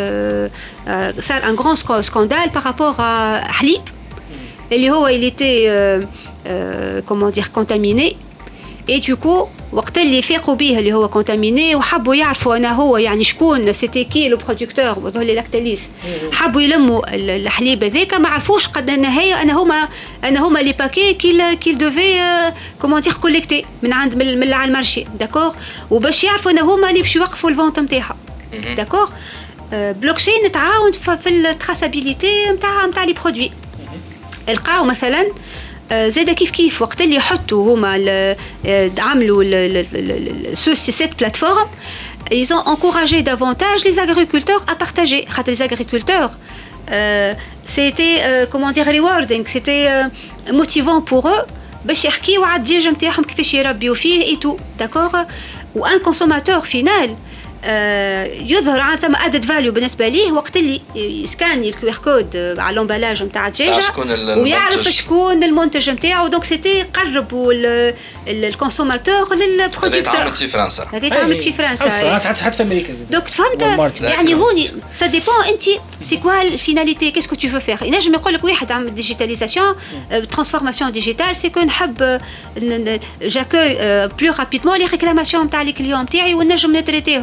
Speaker 4: un grand scandale par rapport à حليب اللي هو il était comment dire contaminé et du coup وقت اللي فاقوا به اللي هو كونتاميني وحبوا يعرفوا انا هو يعني شكون سيتي كي لو برودكتور وهذول لاكتاليس حبوا يلموا الحليب هذاك ما عرفوش قد النهايه انا هما لي باكي كيل دوفي كومون دير كوليكتي من عند من على المارشي. داكور, وباش يعرفوا ان هما اللي باش يوقفوا الفونت نتاعها. داكور, بلوكشين تعاون في التراسابيليتي نتاع لي برودوي. لقاو مثلا زاد كيف وقت اللي يحطوا هما عملوا cette plateforme, ils ont encouragé davantage les agriculteurs à partager. Les agriculteurs, c'était comment dire rewarding, c'était motivant pour eux باش يحكيوا على الدجاج نتاعهم كيفاش يربيوا فيه et tout. d'accord, ou un consommateur final يظهر عن ثم ادد فاليو بالنسبه ليه وقت اللي يسكان الكيو ار كود على لومبالاج نتاع الدجاجه ويعرف شكون المنتج نتاعو. دونك سيتي قربوا الكونسوماتور للبرودكتور.
Speaker 5: هذه في فرنسا
Speaker 4: في فرنسا
Speaker 3: حتى في امريكا.
Speaker 4: دونك فهمت يعني هوني سا ديبون انت سي كوا الفيناليتي كيسكو تو فو فير. ينجم يقول لك واحد عمل ديجيتاليزاسيون ترانسفورماسيون ديجيتال سي كو نحب جاكوي بلو رابيدمون لي ريكلاماسيون نتاع لي كليون نتاعي ونجم نتريتيهم.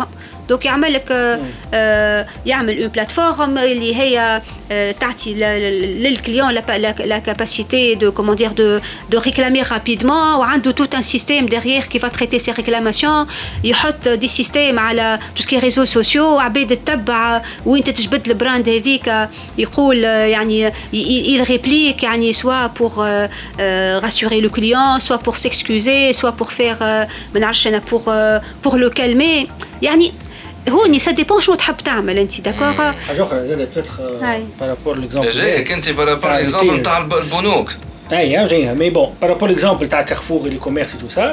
Speaker 4: دونك يعمل لك يعمل اون بلاتفورم اللي هي تعطي للكليون لا كاباسيتي دو كومون دير دو ريكلامي رابيدمون وعنده توت ان سيستيم ديغيير كي فا تريتي سي ريكلاماسيون يحط دي سيستيم على تو سكي ريزو سوسيو عباد تتبع وين تجبد البراند هذيك يقول يعني il réplique يعني soit pour rassurer le client soit pour s'excuser soit pour faire ما نعرفش انا pour le calmer يعني هوني ça dépend شنو تحب تعمل انت داكور
Speaker 3: حاجه اخرى زاد بتاتر بارابور ليكزامبل
Speaker 5: جايك انت بارابور ليكزامبل نتاع البنوك
Speaker 3: اي جايها مي بون بارابور ليكزامبل تاع Carrefour et les commerces et tout ça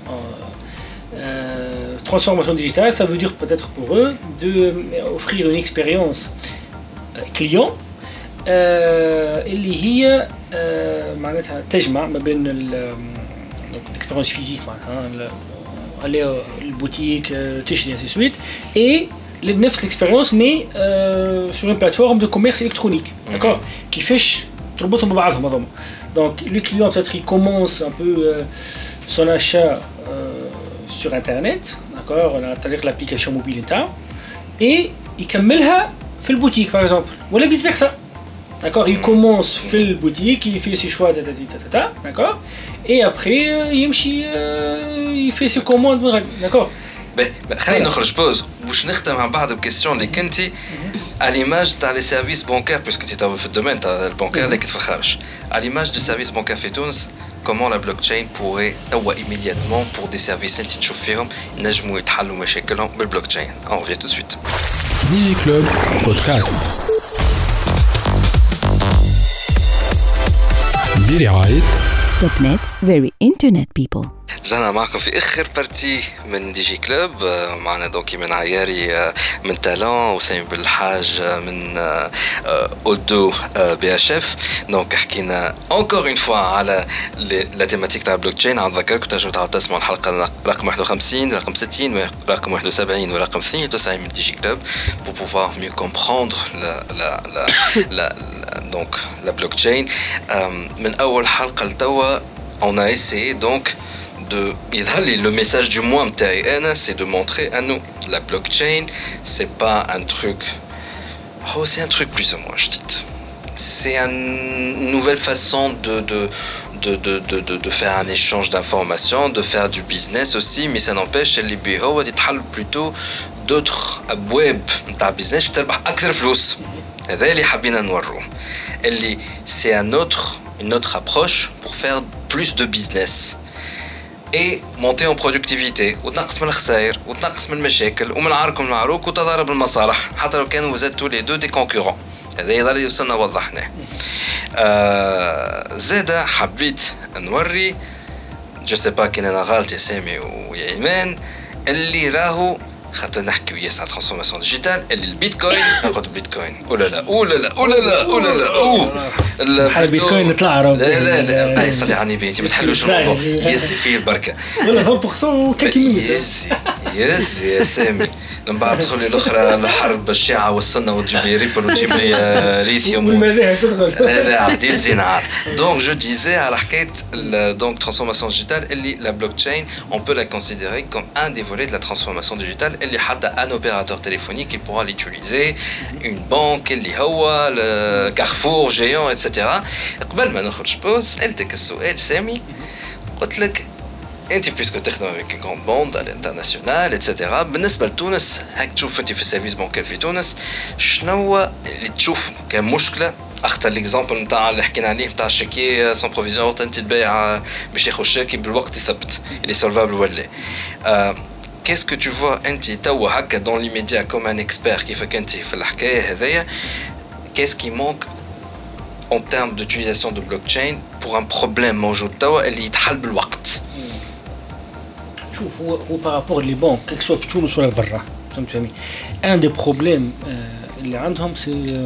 Speaker 3: transformation digitale ça veut dire peut-être pour eux d'offrir une expérience client اللي هي معناتها تجمع ما بين l'expérience physique معناتها aller البوتيك تشري ainsi de suite et نفس l'expérience mais sur une plateforme de commerce électronique d'accord كيفاش تربطهم ببعضهم هذوما donc le client peut-être il commence un peu son achat sur internet d'accord on a تطبيق l'application mobile نتاعو et يكملها في البوتيك par exemple ولا vice versa d'accord il commence في البوتيك il fait ses choix d'accord et après il fait ses commandes d'accord
Speaker 5: خلينا نخرج بوز باش نختم مع بعض بكيستيون اللي كنتي à l'image تاع لي سيرفيس بانكير باسكو انت في الدومين تاع البانكير اللي كنت في الخارج à l'image du service bancaire في تونس comment la blockchain pourrait توا immédiatement pour des services انت تشوف فيهم ينجموا يتحلوا مشاكلهم بالبلوكتشين on revient tout de suite
Speaker 1: Digi Club Podcast برعاية
Speaker 2: توب نت very internet people.
Speaker 5: رجعنا معكم في اخر بارتي من دي جي كلوب معنا دونكي من عياري من تالون وسامي بالحاج من اودو بي اش اف دونك حكينا انكور اون فوا على لا تيماتيك تاع البلوك تشين. نذكركم تنجموا تسمعوا الحلقه رقم 51 رقم 60 رقم 71 ورقم 92 من دي جي كلوب pour pouvoir mieux comprendre donc la blockchain. من اول حلقه لتوا on a essayé donc le message du mois c'est de montrer à nous la blockchain c'est pas un truc c'est un truc plus ou moins je dis c'est une nouvelle façon de faire un échange d'informations, de faire du business aussi, mais ça n'empêche اللي بيه هو يتحل plutôt d'autres abweb نتاع business تربح أكثر فلوس. هذا اللي حبينا نوروه اللي c'est une autre approche pour faire plus de business et monter en productivité وتنقص من الخسائر وتنقص من المشاكل ومن العرك والمعروك وتضارب المصالح حتى لو كانوا vous êtes tous les deux des concurrents. هذا يظل يوصلنا وضحناه. زادا حبيت نوري جو سي با كان انا غلط يا سامي ويا ايمان اللي راهو خاطر نحكي وياس على ترانسفورماسيون ديجيتال اللي البيتكوين ناخذ البيتكوين ولا لا ولا لا ولا لا ولا لا
Speaker 3: البيتكوين نطلع راه
Speaker 5: لا لا اي صلي على النبي انت ما تحلوش الموضوع يزي فيه البركه
Speaker 3: ولا 20% وكاكي
Speaker 5: يس يا سامي لما بعد تدخل الاخرى الحرب الشيعه والسنه وتجيب لي ريبل وتجيب لي ليثيوم
Speaker 3: والمذاهب تدخل
Speaker 5: لا عدي الزنار. دونك جو ديزي على حكايه دونك ترانسفورماسيون ديجيتال اللي لا بلوكتشين اون بو لا كونسيديري كوم ان دي فولي دو لا ترانسفورماسيون ديجيتال اللي حتى ان اوبيراتور تليفونيك il pourra l'utiliser une banque اللي هو كارفور جيون اتسيتيرا. قبل ما نخرج بوز سالتك السؤال سامي قلت لك انت بيسكو تخدم avec une grande bande à l'international etc. بالنسبه لتونس هاك تشوف انت في السيرفيس بانكير في تونس شنو اللي تشوف كمشكله اختار ليكزامبل نتاع اللي حكينا عليه نتاع الشيكي سون بروفيزيون انت تبيع باش ياخذ الشيكي بالوقت يثبت اللي سولفابل ولا qu'est-ce que tu vois انت توا هكا dans l'immédiat comme un expert كيفك انت في الحكايه هذيا qu'est-ce qui manque en termes d'utilisation de blockchain pour un problème موجود توا اللي يتحل بالوقت.
Speaker 3: شوف هو بارابور لي بانك كيك سوا في تونس ولا برا فهمت فهمي ان دي بروبليم اللي عندهم سي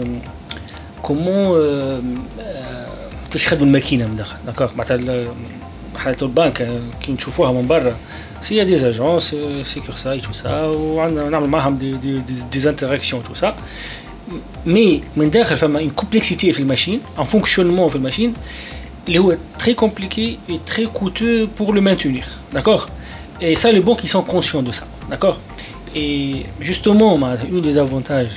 Speaker 3: كومون كيفاش يخدموا الماكينه من داخل داكوغ معناتها حالة البنك كي نشوفوها من برا سي دي اجونس سيكورساي تو سا وعندنا نعمل معهم دي انتراكسيون تو سا مي من داخل فما اون كومبلكسيتي في الماشين ان فونكسيونمون في الماشين اللي هو تري كومبليكي اي تري كوتو بور لو مانتونير داكوغ. Et ça, les banques, ils sont conscients de ça, d'accord. Et justement, un des avantages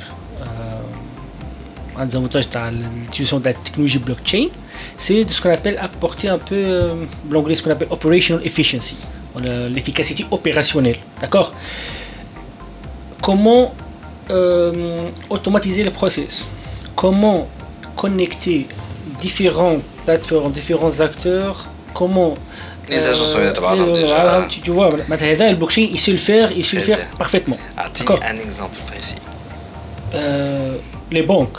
Speaker 3: de l'utilisation de la technologie blockchain, c'est ce qu'on appelle apporter un peu, l'anglais, ce qu'on appelle operational efficiency, l'efficacité opérationnelle. D'accord? Comment automatiser le process? Comment connecter différentes plateformes, différents acteurs? Comment
Speaker 5: les agences déjà.
Speaker 3: Tu vois, le blockchain, il sait le faire parfaitement.
Speaker 5: D'accord. Un exemple précis.
Speaker 3: Les banques,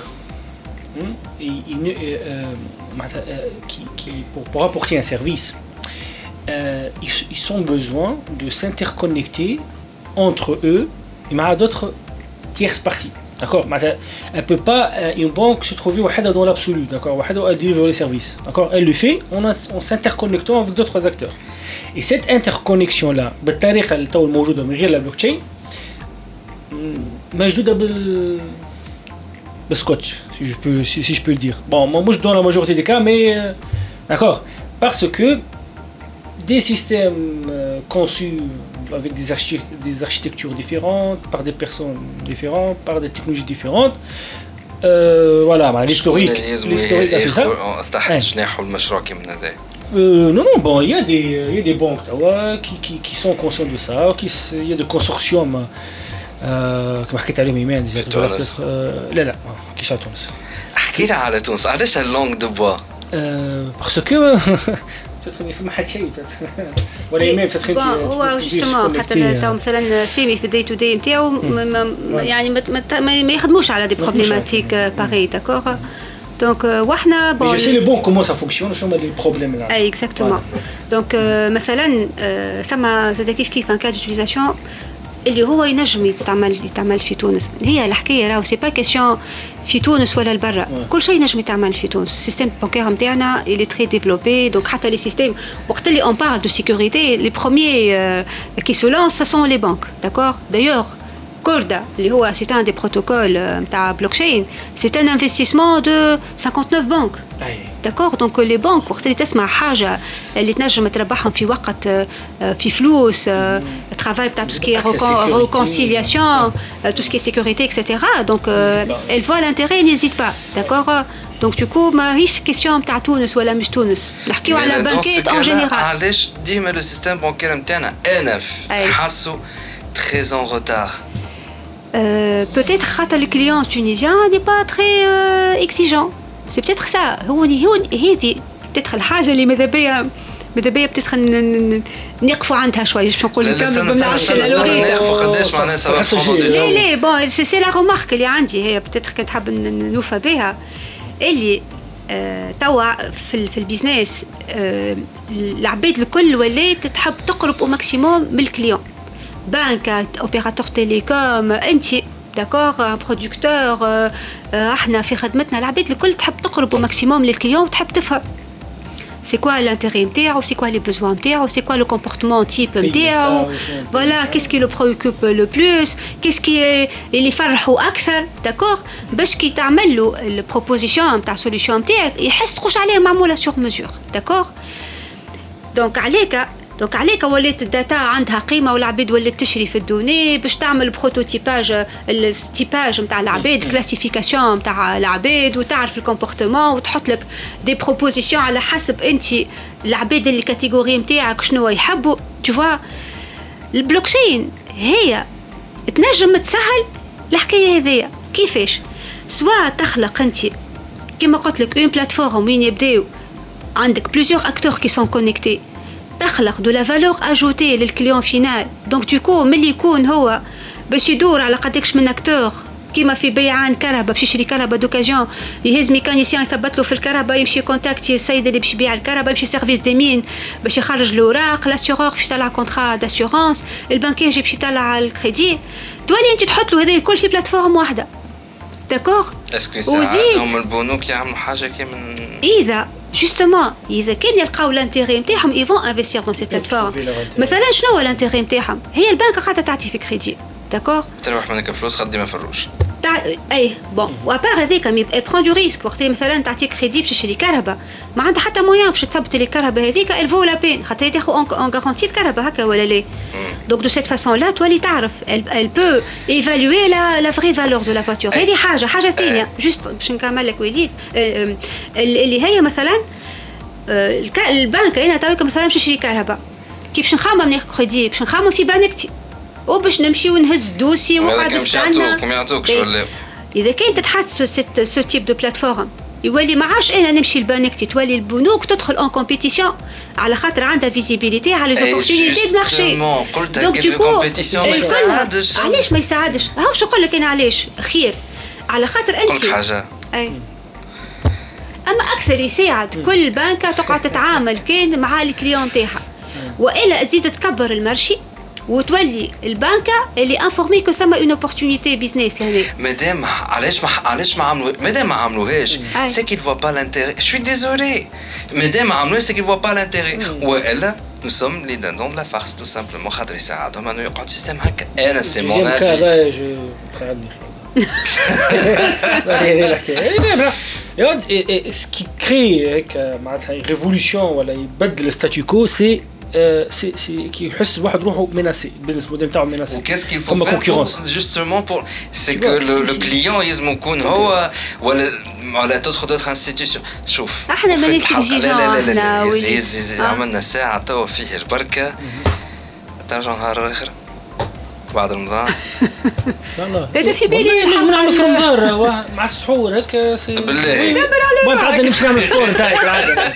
Speaker 3: pour apporter un service, ils ont besoin de s'interconnecter entre eux et avec d'autres tierces parties. D'accord. Elle peut pas, une banque se trouver dans l'absolu, d'accord, à délivrer les services, d'accord. Elle le fait en s'interconnectant avec d'autres acteurs. Et cette interconnexion là, بالطريقه اللي تو موجوده من غير la blockchain, موجوده بالسكوتش, si je peux le dire. Bon, moi je donne la majorité des cas, mais d'accord, parce que des systèmes conçus avec des architectures différentes, par des personnes différentes, par des technologies différentes. Voilà, l'historique a fait ça. Non, bon, il y a des banques qui sont conscients de ça, il y a des consortiums كما حكيت عليهم ايمان ديجا. لا كيش على تونس.
Speaker 5: احكي لي على تونس، علاش اللونغ دو بوا؟
Speaker 3: باسكو ما حد شيء ولا ايمان فتخيل
Speaker 4: هو جوستومون حتى تو مثلا سيمي في الدي تو دي نتاعو يعني ما يخدموش على دي بروبليماتيك باغي داكور. دونك وحنا
Speaker 3: بون جو سي لي بون كومون سا فونكسيون شنو هما لي بروبليم là.
Speaker 4: اي اكزاكتومون. دونك مثلا سما زاد كيف ان كاد يوتيليزاسيون اللي هو ينجم يتعمل في تونس. هي الحكايه راهو سي با كيسيون في تونس ولا لبرا، كل شيء ينجم يتعمل في تونس. السيستم بانكير نتاعنا اللي تري ديفلوبي، دونك حتى لي سيستيم وقت اللي اون بارل دو سيكوريتي لي بروميير كي سو لانس سا سون لي بانك داكور. دايوغ كوردا اللي هو سي ان دي بروتوكول نتاع بلوكشين سي ان انفستيسمون دو 59 بنك داكور. دونك لي بنك وقت اللي تسمع حاجه اللي تنجم تربحهم في وقت في فلوس travail تاع tout ce qui est réconciliation, tout ce qui est sécurité, etc. Donc elle voit l'intérêt, n'hésite pas, d'accord. Donc du coup ماهيش كيسيون تاع تونس ولا مش تونس، نحكيو على بانكيت en général.
Speaker 5: علاش ديما لو سيستيم بانكير نتاعنا انف حاسو très en retard?
Speaker 4: Peut-être que le client tunisien n'est pas très exigeant. C'est peut-être ça. هي peut-être الحاجة اللي ماذا بيا peut-être نقفوا عندها شوي. باش نقول لك ما نعرفش
Speaker 5: نقفوا قداش معناها سبب
Speaker 4: ليه بون سي لا رومارك اللي عندي هي peut-être كنت حاب نوفى بها اللي توا في البيزنس العباد الكل ولات تحب تقرب او ماكسيموم من الكليون. بنك اوبيراتور تيليكوم انت داكور برودكتور احنا في خدمتنا العباد الكل تحب تقرب او ماكسيموم للكليون وتحب تفهم c'est quoi l'intérêt نتاعو, c'est quoi les besoins نتاعو, c'est quoi le comportement type نتاعو, voilà qu'est-ce qui le préoccupe le plus, qu'est-ce qui اللي يفرحوا اكثر داكور باش كي تعمل له البروبوزيشن نتاع سوليوشن نتاعك يحس تخش عليه معموله سور ميزور داكور. دونك عليك ولات الداتا عندها قيمه والعباد ولات تشري في الدوني باش تعمل بروتوتيباج التيباج نتاع العباد كلاسيفيكاسيون نتاع العباد وتعرف الكومبورتمون وتحط لك دي بروبوزيشن على حسب انت العباد اللي كاتيجوري نتاعك شنو يحبوا. tu vois البلوكشين هي تنجم تسهل الحكايه هذيا. كيفاش؟ سواء تخلق انت كما قلت لك اون بلاتفورم وين يبداو عندك بليزيور اكتور كي سون كونيكتي تخلق دو لا فالور اجوتي للكليون فينال. دونك دوكو ملي يكون هو باش يدور على قداكش من اكتور كيما في بيعان كهرباء باش يشري كهرباء دوكازيون يهز ميكانيسيان يثبت له في الكهرباء يمشي كونتاكتي السيد اللي باش يبيع الكهرباء يمشي سيرفيس دي مين باش يخرج الاوراق لاسيورور باش يطلع كونطرا داسيورونس البنكير باش يطلع الكريدي تولي انت تحط له هذا الكل في بلاتفورم واحده داكور.
Speaker 5: اسكو ساعدهم البنوك يعملوا حاجه كيما
Speaker 4: اذا جوستومون اذا كان يلقاو الانتيري نتاعهم يفون انفستير دون سي بلاتفورم. مثلا شنو هو الانتيري نتاعهم؟ هي البنك قاعده تعطي في كريدي داكور
Speaker 5: تروح منك فلوس خدي ما فروش
Speaker 4: اي بون وابار هذيك elle prend du risque وقت مثلا تعطيك كريدي باش تشري كهرباء ما عندها حتى مويان باش تثبت لي الكهرباء هذيك elle vaut la peine خاطر تاخذ اون غارونتي الكهرباء هكا ولا لا دونك دو سيت فاسون لا تولي تعرف elle peut évaluer la vraie valeur de la voiture هذه حاجه ثانيه جوست باش نكمل لك وليد اللي هي مثلا البنك انا تويك مثلا باش نشري كهرباء كي باش نخمم ناخذ كريدي باش نخمم في بنكتي وباش نمشي ونهز دوسي وقاعد نستنى
Speaker 5: كم يعطوكش ولا
Speaker 4: اذا كان تتحط سو تيب دو بلاتفورم يولي ما عادش انا نمشي لبنكتي تولي البنوك تدخل اون كومبيتيسيون على خاطر عندها فيزيبيليتي على لي زوبورتونيتي دو مارشي
Speaker 5: دونك دو كومبيتيسيون ما يساعدش
Speaker 4: علاش ما يساعدش هاو شو نقول لك انا علاش خير على خاطر انت
Speaker 5: كل حاجه
Speaker 4: اما اكثر يساعد كل بنكه تقعد تتعامل كان مع الكليون تاعها والا تزيد تكبر المارشي وتولي البنكه اللي انفورمي كو سما اون اوبورتونيتي بيزنس لهنا
Speaker 5: مادام علاش ما عملوا مادام ما عملوهاش سي كيل فوا با لانتيري شوي ديزولي مادام ما عملوش سي كيل فوا با لانتيري والا نو سوم لي دون لا فارس تو سامبلومون خاطر يساعدهم انه يقعد سيستم هكا انا سي مون
Speaker 3: هذا ساعدني هذه الحكايه ce qui crée هيك معناتها ريفولوشن ولا يبدل الستاتيو كو سي كي يحس الواحد روحه مناسي البيزنس موديل تاعو مناسي
Speaker 5: وكاس كيل فو فير جوستومون بور سي كو لو كليون لازم يكون هو ولا تدخل دوتر انستيتيوشن شوف
Speaker 4: احنا مانيش اكزيجون
Speaker 5: لا عملنا ساعه توا فيه البركه ترجع نهار اخر بعد رمضان
Speaker 3: ان شاء الله
Speaker 4: هذا في بالي
Speaker 3: نعمل في رمضان مع السحور هكا
Speaker 5: بالله
Speaker 3: ما تعدى نمشي نعمل سبور نتاعك العاده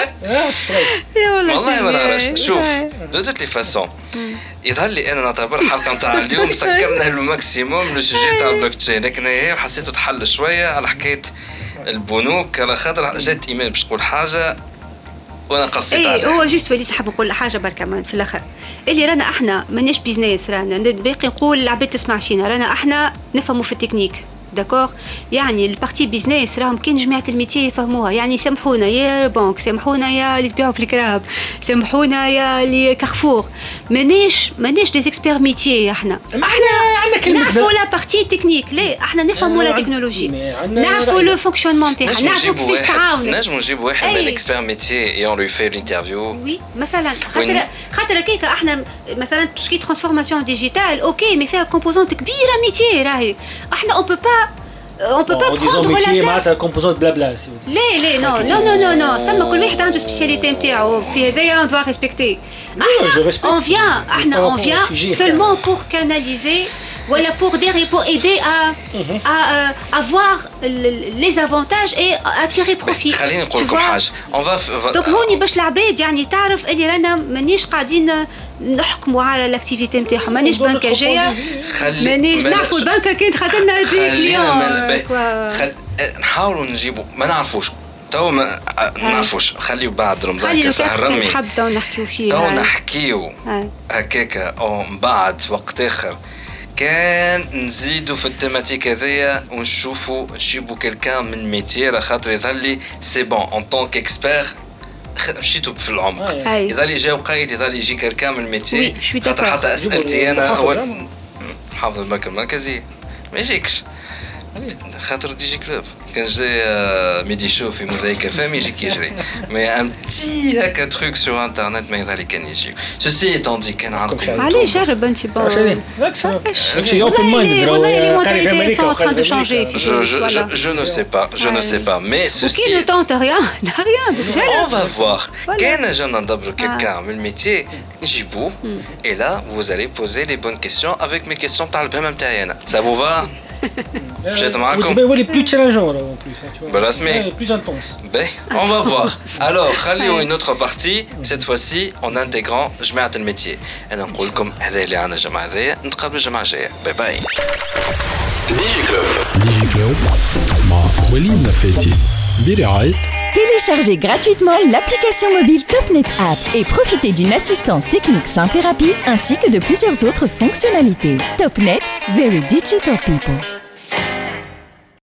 Speaker 5: والله ما نعرفش شوف دو توت لي فاسون يظهر لي انا نعتبر الحلقه نتاع اليوم سكرنا الماكسيموم لو سوجي تاع البلوك تشين لكن هي حسيته تحل شويه على حكايه البنوك على خاطر جات ايمان باش تقول حاجه وانا قصيت عليه
Speaker 4: هو جوست وليت نحب نقول حاجه برك كمان في الاخر اللي رانا احنا ماناش بيزنس رانا باقي نقول العباد تسمع فينا رانا احنا نفهموا في التكنيك داكور يعني البارتي بيزنس راهم كاين جماعه الميتي يفهموها يعني سامحونا يا بنك سامحونا يا اللي تبيعوا في الكراب سامحونا يا اللي كارفور ماناش دي اكسبير ميتي احنا نعرفوا لا بارتي تكنيك لا احنا نفهموا لا تكنولوجي نعرفوا لو فونكسيونمون تاعها نعرفوا كيفاش تعاونوا
Speaker 5: نجموا نجيب واحد من الاكسبير ميتي اون لو في الانترفيو
Speaker 4: وي مثلا خاطر كيكا احنا مثلا تسكي ترانسفورماسيون ديجيتال اوكي مي فيها كومبوزونت كبيره ميتي راهي احنا on peut pas prendre la
Speaker 3: tête معناتها كومبوزونت بلا بلا
Speaker 4: لا نو ثم كل واحد عنده سبيسياليتي نتاعو في هذايا on doit respecter on vient seulement pour canaliser voilà pour aider à voir les avantages et à tirer profit
Speaker 5: خليني نقول لكم حاجه on va
Speaker 4: donc هوني باش العباد يعني تعرف اللي رانا مانيش قاعدين نحكموا على الاكتيفيتي نتاعهم مانيش بنكه جايه مانيش نعرفوا البنكه كانت خاطرنا
Speaker 5: كليون نحاولوا نجيبوا ما نعرفوش تو ما نعرفوش خليو بعد رمضان كسهر رمي
Speaker 4: نحبوا نحكيو فيه
Speaker 5: تو نحكيو هكاكا او بعد وقت اخر كان نزيدوا في التيماتيك هذيا ونشوفوا نجيبوا كلكان من ميتي على خاطر يظهر لي سي بون اون طونك اكسبير مشيتوا في العمق يظل يجي وقايد يظل يجي كلكان من ميتي خاطر حتى اسئلتي انا هو حافظ البنك المركزي ما يجيكش خاطر دي جي كلوب كان جاي ميدي شو في موزايك فام يجيك يجري مي ان بتي هكا تروك سور انترنت ما يظهر كان يجي سوسي ايتون دي كان عندكم
Speaker 4: عليه جرب انت بون
Speaker 3: شي اوبن مايند
Speaker 4: والله les mentalités sont en train de changer
Speaker 5: je ne sais pas mais ceci
Speaker 4: qui ne tente rien
Speaker 5: on va voir كان جانا ندبروا quelqu'un من الميتي نجيبوه et là vous allez poser les bonnes questions avec mes questions تاع البهم نتاعي انا ça vous va جيت معكم
Speaker 3: يولي بلو تشالنجور اون بلوس
Speaker 5: بالرسمي
Speaker 3: بلو انتونس
Speaker 5: on va voir alors خليو une autre partie cette fois-ci en intégrant جماعة الميتي انا نقول لكم هذا اللي عندنا الجماعة هذيا نتقابلوا الجماعة الجاية باي باي
Speaker 1: ديجي كلوب مع وليد نفاتي برعاية
Speaker 2: Téléchargez gratuitement l'application mobile TopNet App et profitez d'une assistance technique simple et rapide ainsi que de plusieurs autres fonctionnalités. TopNet, very digital people.